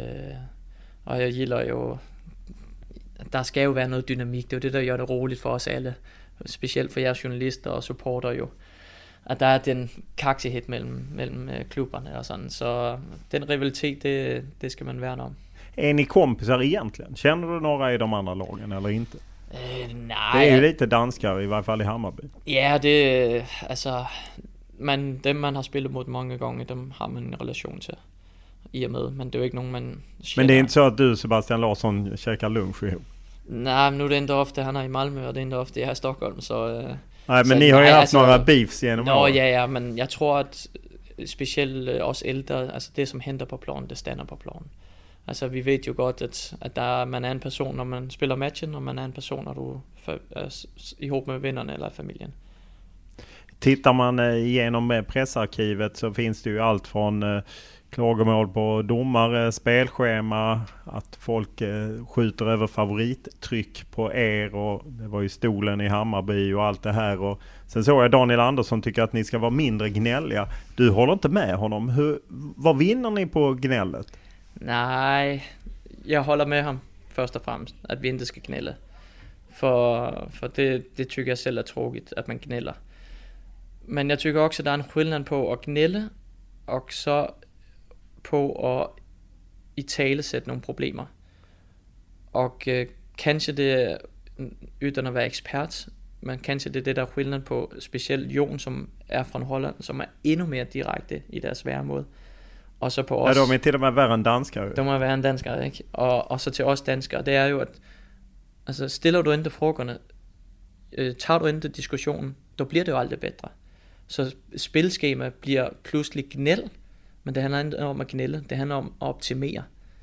Og jeg gilder jo, der skal jo være noget dynamik. Det er jo det, der gør det roligt for os alle. Specielt for jeres journalister og supporter jo. At der er den kaksighed mellem klubberne og sådan. Så den rivalitet, det skal man værne om. Är ni kompisar egentligen? Känner du några i de andra lagen eller inte? Nej. Det är ju lite danskar, i varje fall i Hammarby. Ja, det altså dem man har spillet mot många gånger, dem har man en relation till i och med, men det är ju inte någon man känner. Men det är inte så att du, Sebastian Larsson, käkar lunch ihop? Nej, men nu är det inte ofta han är i Malmö, och det är inte ofta jag är i Stockholm, så nej, men ni har ju haft några beefs genom åren. Ja, men jag tror att speciellt oss äldre, alltså det som händer på plan, det stannar på plan. Altså vi vet jo godt, at man er en person, når man spiller matchen, og man er en person, når du er ihop med vennerne eller familien. Tittar man igenom pressarkivet så finns det ju allt från klagomål på domare, spelschema, att folk skjuter över favorittryck på och det var ju stolen i Hammarby och allt det här. Och sen såg jag Daniel Andersson tycker att ni ska vara mindre gnälliga. Du håller inte med honom. Vad vinner ni på gnället? Nej, jag håller med ham först och främst, att vi inte ska gnälla. För det tycker jag selv är tråkigt, att man gnäller. Men jag tycker också att det är en skillnad på att gnälla och så på att italesætte nogle problemer. Och kanske det, utan att vara expert, men kanske det är det där skillnad på speciellt Jon som är från Holland, som är ännu mer direkte i deres væremåde. Og så på os. Ja, de är till och med värre än danskar. De är värre än danskar, ikke? Og så till oss danskar, det är ju att alltså stiller du inte frågorna, tar du inte diskussionen, då blir det ju aldrig bättre. Så spilskema blir pludselig gnäll, men det handlar inte om att gnälla, det handlar om att optimera.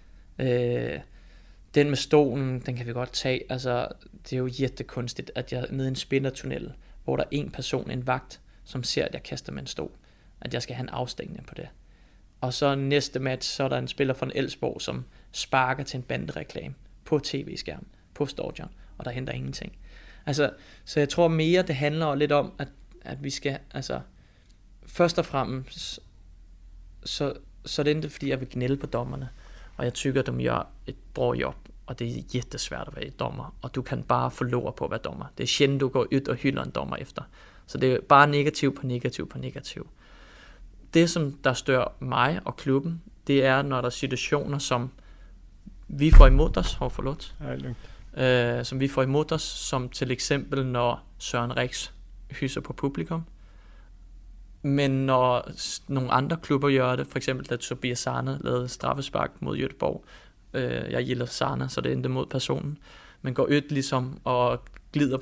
Den med stolen, den kan vi godt tage. Altså, det är ju jättekonstigt att jag nede i en spinnertunnel, hvor der er en person, en vagt, som ser at jeg kaster med en stol, at jeg skal have en afstængning på det. Og så næste match, så er der en spiller fra Elfsborg, som sparker til en bandereklame på tv-skærm, på stadion, og der henter ingenting. Altså, så jeg tror mere, det handler lidt om, at vi skal, altså, først og fremmest, så er det ikke fordi, jeg vil gnælde på dommerne, og jeg tykker, de gør et bra jobb, og det er jättesvært at være dommer, og du kan bare forlore på at være dommer. Det er sjældent, du går ud og hylder en dommer efter. Så det er bare negativ på negativ på negativ. det, som der stør mig og klubben, det er, når der er situationer, som vi får imod os, som vi får imod os, som til eksempel, når Søren Rix hyser på publikum. Men når nogle andre klubber gør det, for eksempel da Tobias Sarne lavede straffespark mod Göteborg, jeg gilder Sarne, så det endte mod personen, men går ud ligesom og glider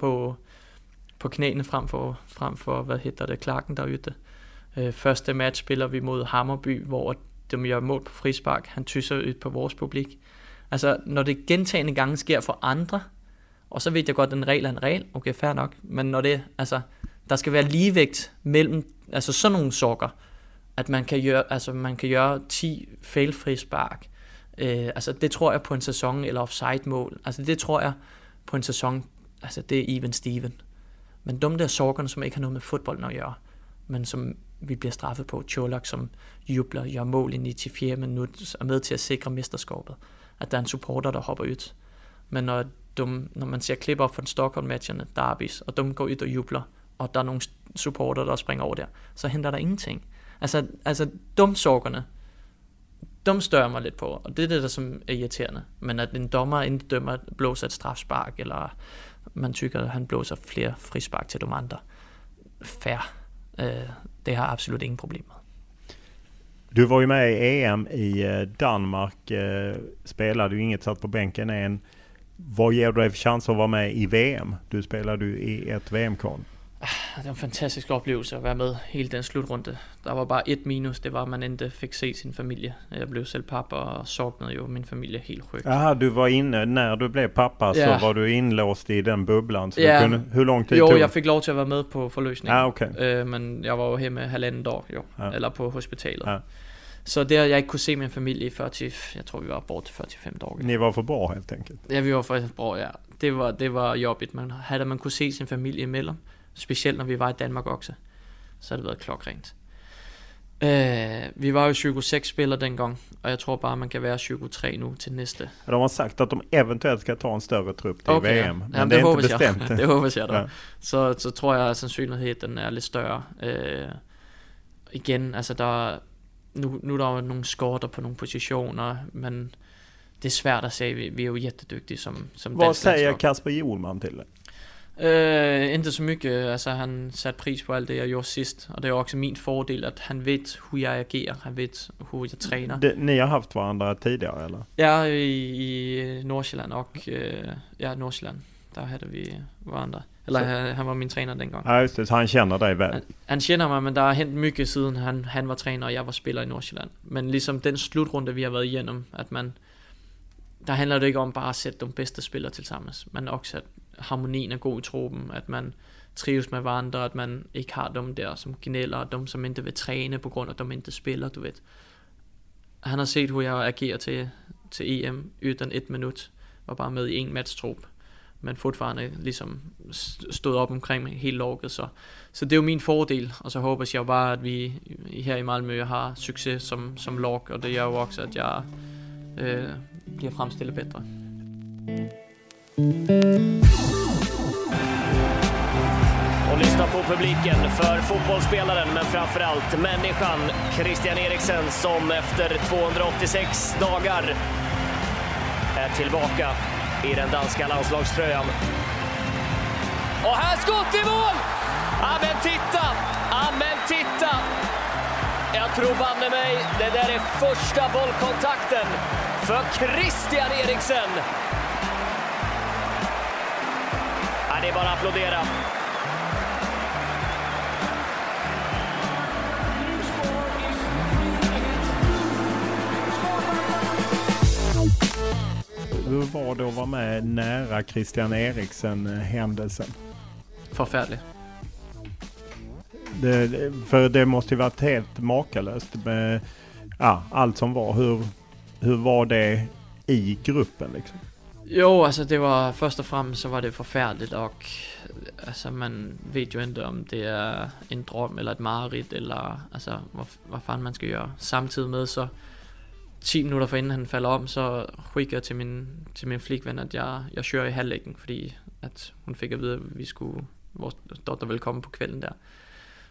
på knæene frem for hvad hedder det, Clarken der ytte. Første match spiller vi mod Hammarby, hvor de gør mål på frispark. Han tysser ud på vores publik. Altså, når det gentagende gange sker for andre, og så ved jeg godt, at en regel er en regel, okay, fair nok, men når det, altså, der skal være ligevægt mellem, altså sådan nogle sokker, at man kan gøre 10 fail-frispark. Altså, det tror jeg på en sæson, eller offside-mål. Altså, det tror jeg på en sæson, altså, det er even Steven. Men de der sokkerne, som ikke har noget med fodbold at gøre, men som vi bliver straffet på. Čolak, som jubler, gør mål i 94 minut, er med til at sikre mesterskabet. At der er en supporter, der hopper ud. Men når man ser klip op fra Stockholm-matcherne, derbys, og de går ud og jubler, og der er nogle supporter, der springer over der, så henter der ingenting. Altså dumsokkerne, de stør mig lidt på, og det er det, der som er irriterende. Men at en dommer inden dømmer blåser et strafspark, eller man tykker, at han blåser flere frispark til de andre. Fair. Det har absolut ingen problem med. Du var ju med i EM i Danmark, spelade ju inget, satt på bänken än. Vad ger du dig för chans att vara med i VM? Du spelade ju i ett VM-kval. Det var en fantastisk oplevelse at være med hele den slutrunde. Der var bare et minus, det var, at man ikke fik se sin familie. Jeg blev selv pappa og savnede jo min familie helt sjukt. Jaha, du var inne, när du blev pappa så var du inlåst i den bubblan. Så ja. du kunde, hur lång tid tog? Jo, jeg fik lov til at være med på forløsningen. Okay. Men jeg var jo hjemme 1,5 år, eller på hospitalet. Ja. Så der jeg ikke kunne se min familie i 40, jeg tror vi var bort til 45 dage. Ni var for bra helt enkelt. Ja, vi var for bra, ja. Det var jobbigt, men havde man kunne se sin familie imellem, specielt når vi var i Danmark også, så har det været klokkrent. Vi var jo 26 spillere dengang, og jeg tror bare, man kan være 23 nu til næste. De har sagt at de eventuelt skal ta en større trupp til VM, men ja, det er ikke bestemt. Det håber jeg da. Ja. Så tror jeg, at sandsynligheden er lidt større. Igen, altså nu er der jo nogle skorter på nogle positioner, men det er svært at sige. Vi er jo jättedygtige som Vad säger Kasper Hjulman til det? Inte så mycket. Altså, han satte pris på alt det, jeg gjorde sidst. Og det er også min fordel, at han ved, hur jeg agerer. Han ved, hur jeg træner. Ni har haft varandra tidigare, eller? Ja, i Nordsjælland og Nordsjælland. Der havde vi varandra. Eller han var min træner dengang. Ja, just det. Så han känner dig väl? Han känner mig, men der har hent mycket siden han var træner, og jeg var spiller i Nordsjælland. Men ligesom den slutrunde, vi har været igennem, at der handler det ikke om bare at sætte de bedste spillere til sammen, men også at harmonien er god i truppen, at man trives med hverandre, at man ikke har dem der som gnæller, og dem som ikke vil træne på grund af, at de ikke spiller, du ved. Han har set, hvor jeg agerer til EM uden 1 minut, var bare med i en matchtrup, men fortfarande ligesom stod op omkring mig helt lukket, så det er jo min fordel, og så håber jeg bare, at vi her i Malmö har succes som lag, og det gør jo også, at jeg bliver fremstillet bedre. Och lyssna på publiken för fotbollsspelaren, men framförallt människan Christian Eriksen, som efter 286 dagar är tillbaka i den danska landslagströjan. Och här skott i mål! Amen titta! Jag tror banne mig, det där är första bollkontakten för Christian Eriksen. Ja, det är bara att applådera. Hur var det att vara med nära Christian Eriksen-händelsen? Förfärlig. För det måste ju varit helt makalöst med allt som var. Hur var det i gruppen liksom? Jo, alltså det var först och främst så var det förfärligt, och alltså man vet ju inte om det är en dröm eller ett mareritt eller alltså vad fan man ska göra. Samtidigt med så 10 minutter for inden han falder om, så skikker jeg til min flikven, at jeg kører i halvlæggen, fordi at hun fik at vide, at vores dotter ville komme på kvælden der.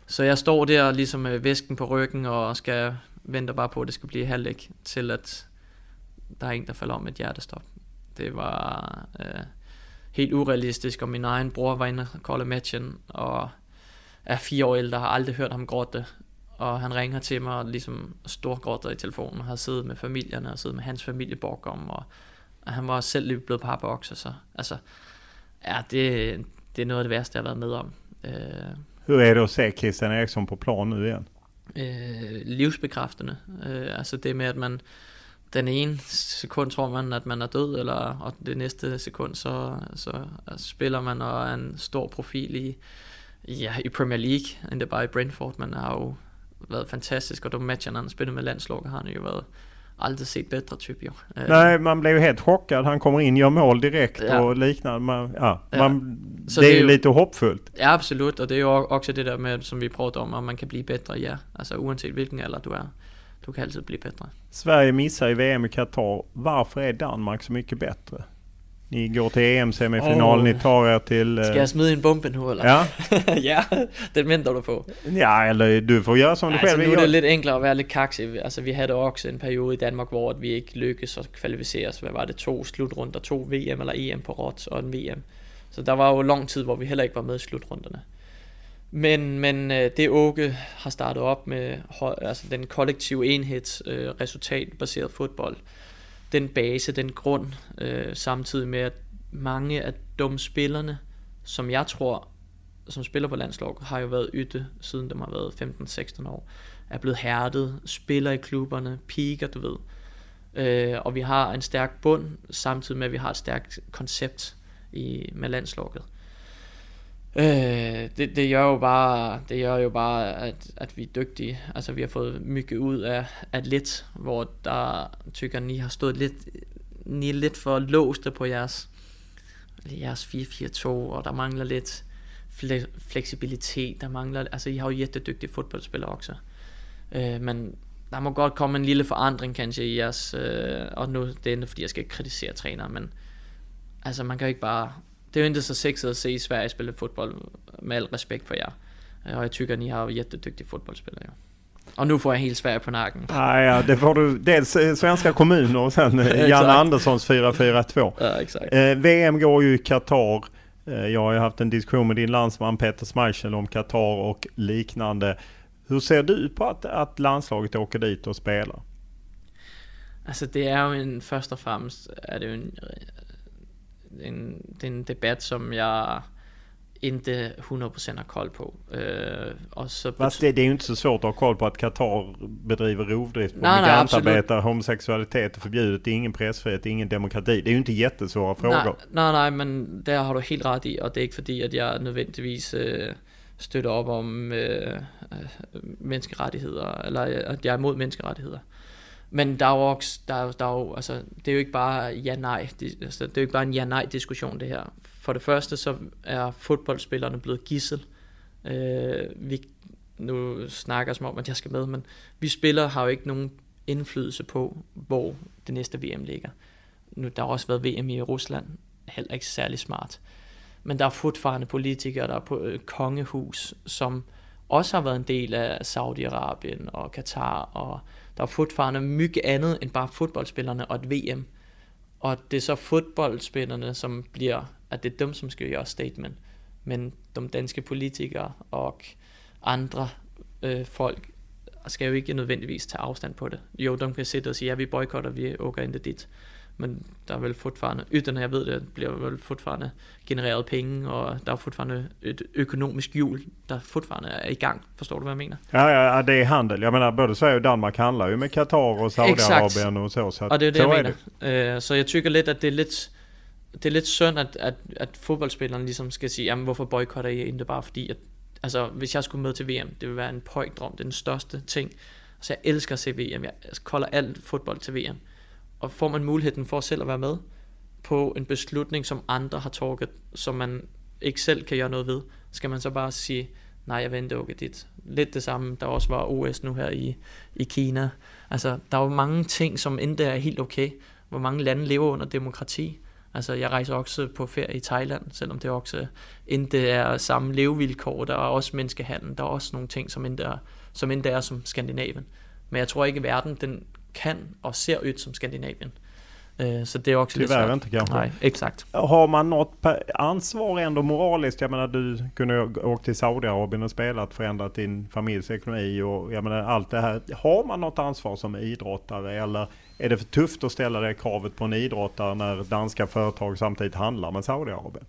Så jeg står der ligesom med væsken på ryggen og skal vente bare på, at det skal blive halvdæk, til at der er en, der falder om et hjertestop. Det var helt urealistisk, og min egen bror var inde og kolde matchen, og er 4 år ældre, har aldrig hørt ham gråte. Og han ringer til mig og ligesom storgråter i telefonen, og har siddet med familierne og siddet med hans familie bakom, og han var selv lige blevet parboks, så altså, ja, det er noget af det værste, jeg har været med om. Hur är det att se Christian Eriksson på plan nu igen? Livsbekræftende. Altså det med, at man den ene sekund tror man, at man er død, og det næste sekund, så spiller man og er en stor profil i Premier League, endda bare i Brentford. Man har jo været fantastisk, og de matcher, han spillet med landslaget, har han jo været aldrig set bättre typ ju. Nej, man blev ju helt chockad. Han kommer in, gör mål direkt och liknande. Det är ju lite hoppfullt. Ja, absolut. Och det är ju också det där med, som vi pratar om man kan bli bättre, ja. Alltså oavsett vilken alder du är. Du kan alltid bli bättre. Sverige missar i VM i Qatar. Varför är Danmark så mycket bättre? Ni går till EM-semifinal, ni tar er till... Ska jag smida in bomben nu eller? Ja. Ja, det väntar du på. Ja, eller du får göra som du själv vill. Nu är det lite enklare att vara lite kaxig. Alltså vi hade också en period i Danmark, hvor vi inte lyckades att kvalificera oss. Vad var det? 2 slutrunder, 2 VM eller EM på rot och en VM. Så der var jo lång tid, hvor vi heller ikke var med i slutrunderne. Men det Åke har startet op med, altså den kollektive enheds resultatbaseret fodbold, den base, den grund, samtidig med at mange af de spillerne, som jeg tror, som spiller på landslag, har jo været ytte, siden de har været 15-16 år, er blevet hærdet, spiller i klubberne, piker, du ved. Og vi har en stærk bund, samtidig med at vi har et stærkt koncept med landslaget. Det gør jo bare at vi er dygtige. Altså vi har fået mycket ud af lidt, hvor der tykker ni har stået lidt for låste på jeres 4-4-2, og der mangler lidt fleksibilitet. Der mangler, altså I har jo jättedygtige fodboldspillere også. Men der må godt komme en lille forandring kanskje i jeres, og nu det er ikke fordi jeg skal kritisere træneren, men altså man kan jo ikke bare. Det er jo ikke så sexet at se Sverige spille fodbold, med al respekt for jer. Og jeg tycker, at I har jättedygtige fodboldspillere. Ja. Och nu får jag helt Sverige på nacken. Ja, det får du. Dels svenska kommuner och sen Jan Anderssons 4-4-2. Ja, exakt. VM går ju i Qatar. Jag har ju haft en diskussion med din landsman Peter Schmeichel om Qatar och liknande. Hur ser du på att landslaget åker dit och spelar? Alltså det är ju först och främst är det ju en debat som jag inte 100% har koll på. Och så fast det är ju inte så svårt att ha koll på att Qatar bedriver rovdrift på migrantarbetare, homosexualitet är förbjudet, det är ingen pressfrihet, det är ingen demokrati. Det är ju inte jättesvåra frågor. Nej, men där har du helt rätt i, och det är inte för att jag nödvändigtvis støtter op om menneskerettigheder, eller at jeg er imod menneskerettigheder. Men der er jo også, altså, det er jo ikke bare ja-nej, det er jo ikke bare en ja-nej-diskussion det her. For det første, så er fodboldspillerne blevet gidsel. Vi nu snakker som om, at jeg skal med, men vi spillere har jo ikke nogen indflydelse på, hvor det næste VM ligger. Nu, der har også været VM i Rusland, heller ikke særlig smart. Men der er fortfarande politikere, der er på kongehus, som også har været en del af Saudi-Arabien og Katar, og der er fortfarande mycket andet end bare fodboldspillerne og et VM. Og det er så fodboldspillerne, som bliver, at det er dem, som skal gøre statement. Men de danske politikere og andre folk skal jo ikke nødvendigvis tage afstand på det. Jo, de kan sidde og sige, ja, vi boykotter, vi åker ikke dit. Men der er vel fortfarande, ytten jeg ved det, bliver vel fortfarande genereret penge, og der er fortfarande et økonomisk hjul, der fortfarande er i gang. Forstår du, hvad jeg mener? Ja, det är handel. Jag menar, både Sverige och Danmark handlar ju med Qatar och Saudiarabien och så. Og det er det, jeg mener. Så jeg tykker lidt, at det er lidt synd, at fodboldspillerne ligesom skal sige, jamen hvorfor boykotter I ikke bare fordi, at altså, hvis jeg skulle med til VM, det vil være en pøjdrøm, det er den største ting. Så jeg elsker at se VM, jeg kolder alt fodbold til VM. Og får man muligheden for selv at være med på en beslutning, som andre har taget, som man ikke selv kan gøre noget ved, skal man så bare sige, nej, jeg venter ikke dit. Lidt det samme, der også var OS nu her i Kina. Altså, der er jo mange ting, som endda er helt okay. Hvor mange lande lever under demokrati. Altså, jeg rejser også på ferie i Thailand, selvom det også ikke er samme levevilkår. Der er også menneskehandel, der er også nogle ting, som ikke er som Skandinavien. Men jeg tror ikke, at verden den kan og ser ud som Skandinavien. Så det är också lite svårt. Inte kanske. Nej, exakt. Har man något ansvar ändå moraliskt? Jag menar, du kunde åka till Saudiarabien och spelat, förändrat din familjs ekonomi och jag menar allt det här. Har man något ansvar som idrottare eller är det för tufft att ställa det kravet på en idrottare när danska företag samtidigt handlar med Saudiarabien?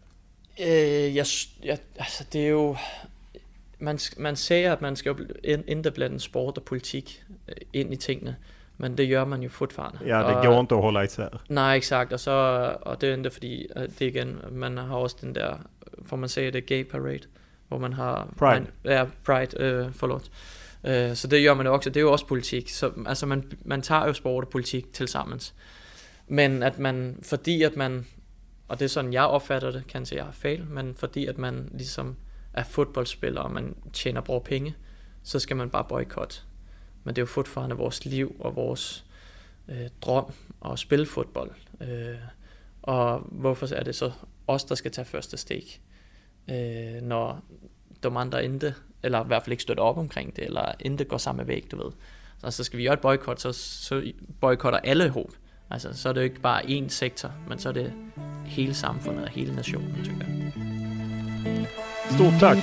Alltså det är ju man säger att man ska inte blanda sport och politik in i tingene. Men det gör man ju fortfarande. Ja, det går inte att hålla isär. Nej, exakt. Och det är inte fordi, det igen, man har också den där, får man säga det, gay parade, hvor man har... Pride. Pride, förlåt. Så det gör man ju också, det är ju också politik. Så, alltså man tar ju sport och politik tillsammans. Men att man, fordi att man, och det är sådan jag opfatter det, kanske jag har fel, men fordi att man liksom är fotbollsspelare och man tjänar bra pengar, så ska man bara bojkotta. Men det är ju fortfarande vores liv och vores dröm att spela fotboll. Och varför är det så oss der ska ta första steg när de andra inte, eller i hvert fall ikke støtter op omkring det, eller inte går samma väg, du ved. Så ska vi göra ett bojkott, så bojkottar alla ihop. Altså, så är det ju inte bara en sektor, men så är det hela samfundet och hela nationen, tycker jag. Stort tack!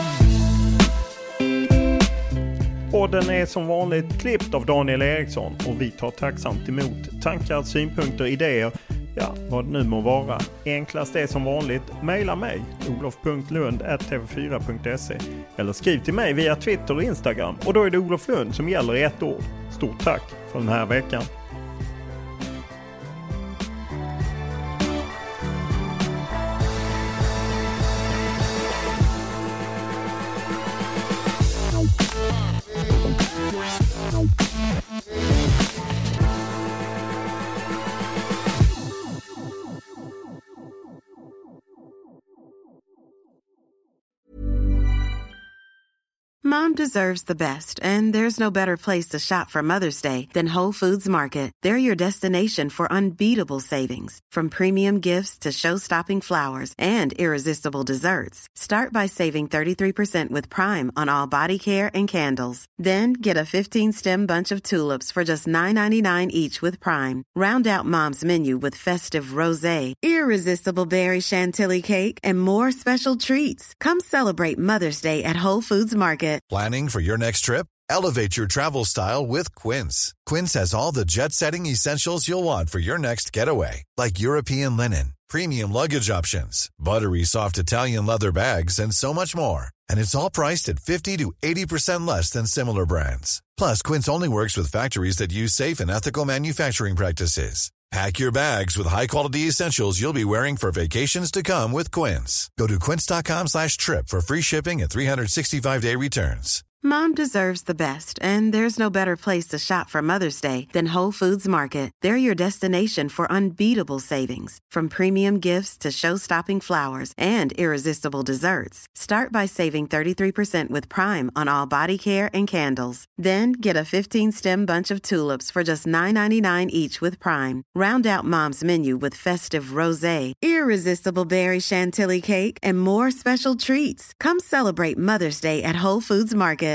Podden är som vanligt klippt av Daniel Eriksson och vi tar tacksamt emot tankar, synpunkter, idéer, ja, vad det nu må vara. Enklast är som vanligt, mejla mig, olof.lund@tv4.se eller skriv till mig via Twitter och Instagram och då är det Olof Lund som gäller i ett ord. Stort tack för den här veckan. Mom deserves the best, and there's no better place to shop for Mother's Day than Whole Foods Market. They're your destination for unbeatable savings, from premium gifts to show-stopping flowers and irresistible desserts. Start by saving 33% with Prime on all body care and candles. Then get a 15-stem bunch of tulips for just $9.99 each with Prime. Round out Mom's menu with festive rosé, irresistible berry chantilly cake, and more special treats. Come celebrate Mother's Day at Whole Foods Market. Planning for your next trip? Elevate your travel style with Quince. Quince has all the jet-setting essentials you'll want for your next getaway, like European linen, premium luggage options, buttery soft Italian leather bags, and so much more. And it's all priced at 50 to 80% less than similar brands. Plus, Quince only works with factories that use safe and ethical manufacturing practices. Pack your bags with high-quality essentials you'll be wearing for vacations to come with Quince. Go to quince.com/trip for free shipping and 365-day returns. Mom deserves the best, and there's no better place to shop for Mother's Day than Whole Foods Market. They're your destination for unbeatable savings, from premium gifts to show-stopping flowers and irresistible desserts. Start by saving 33% with Prime on all body care and candles. Then get a 15-stem bunch of tulips for just $9.99 each with Prime. Round out Mom's menu with festive rosé, irresistible berry chantilly cake, and more special treats. Come celebrate Mother's Day at Whole Foods Market.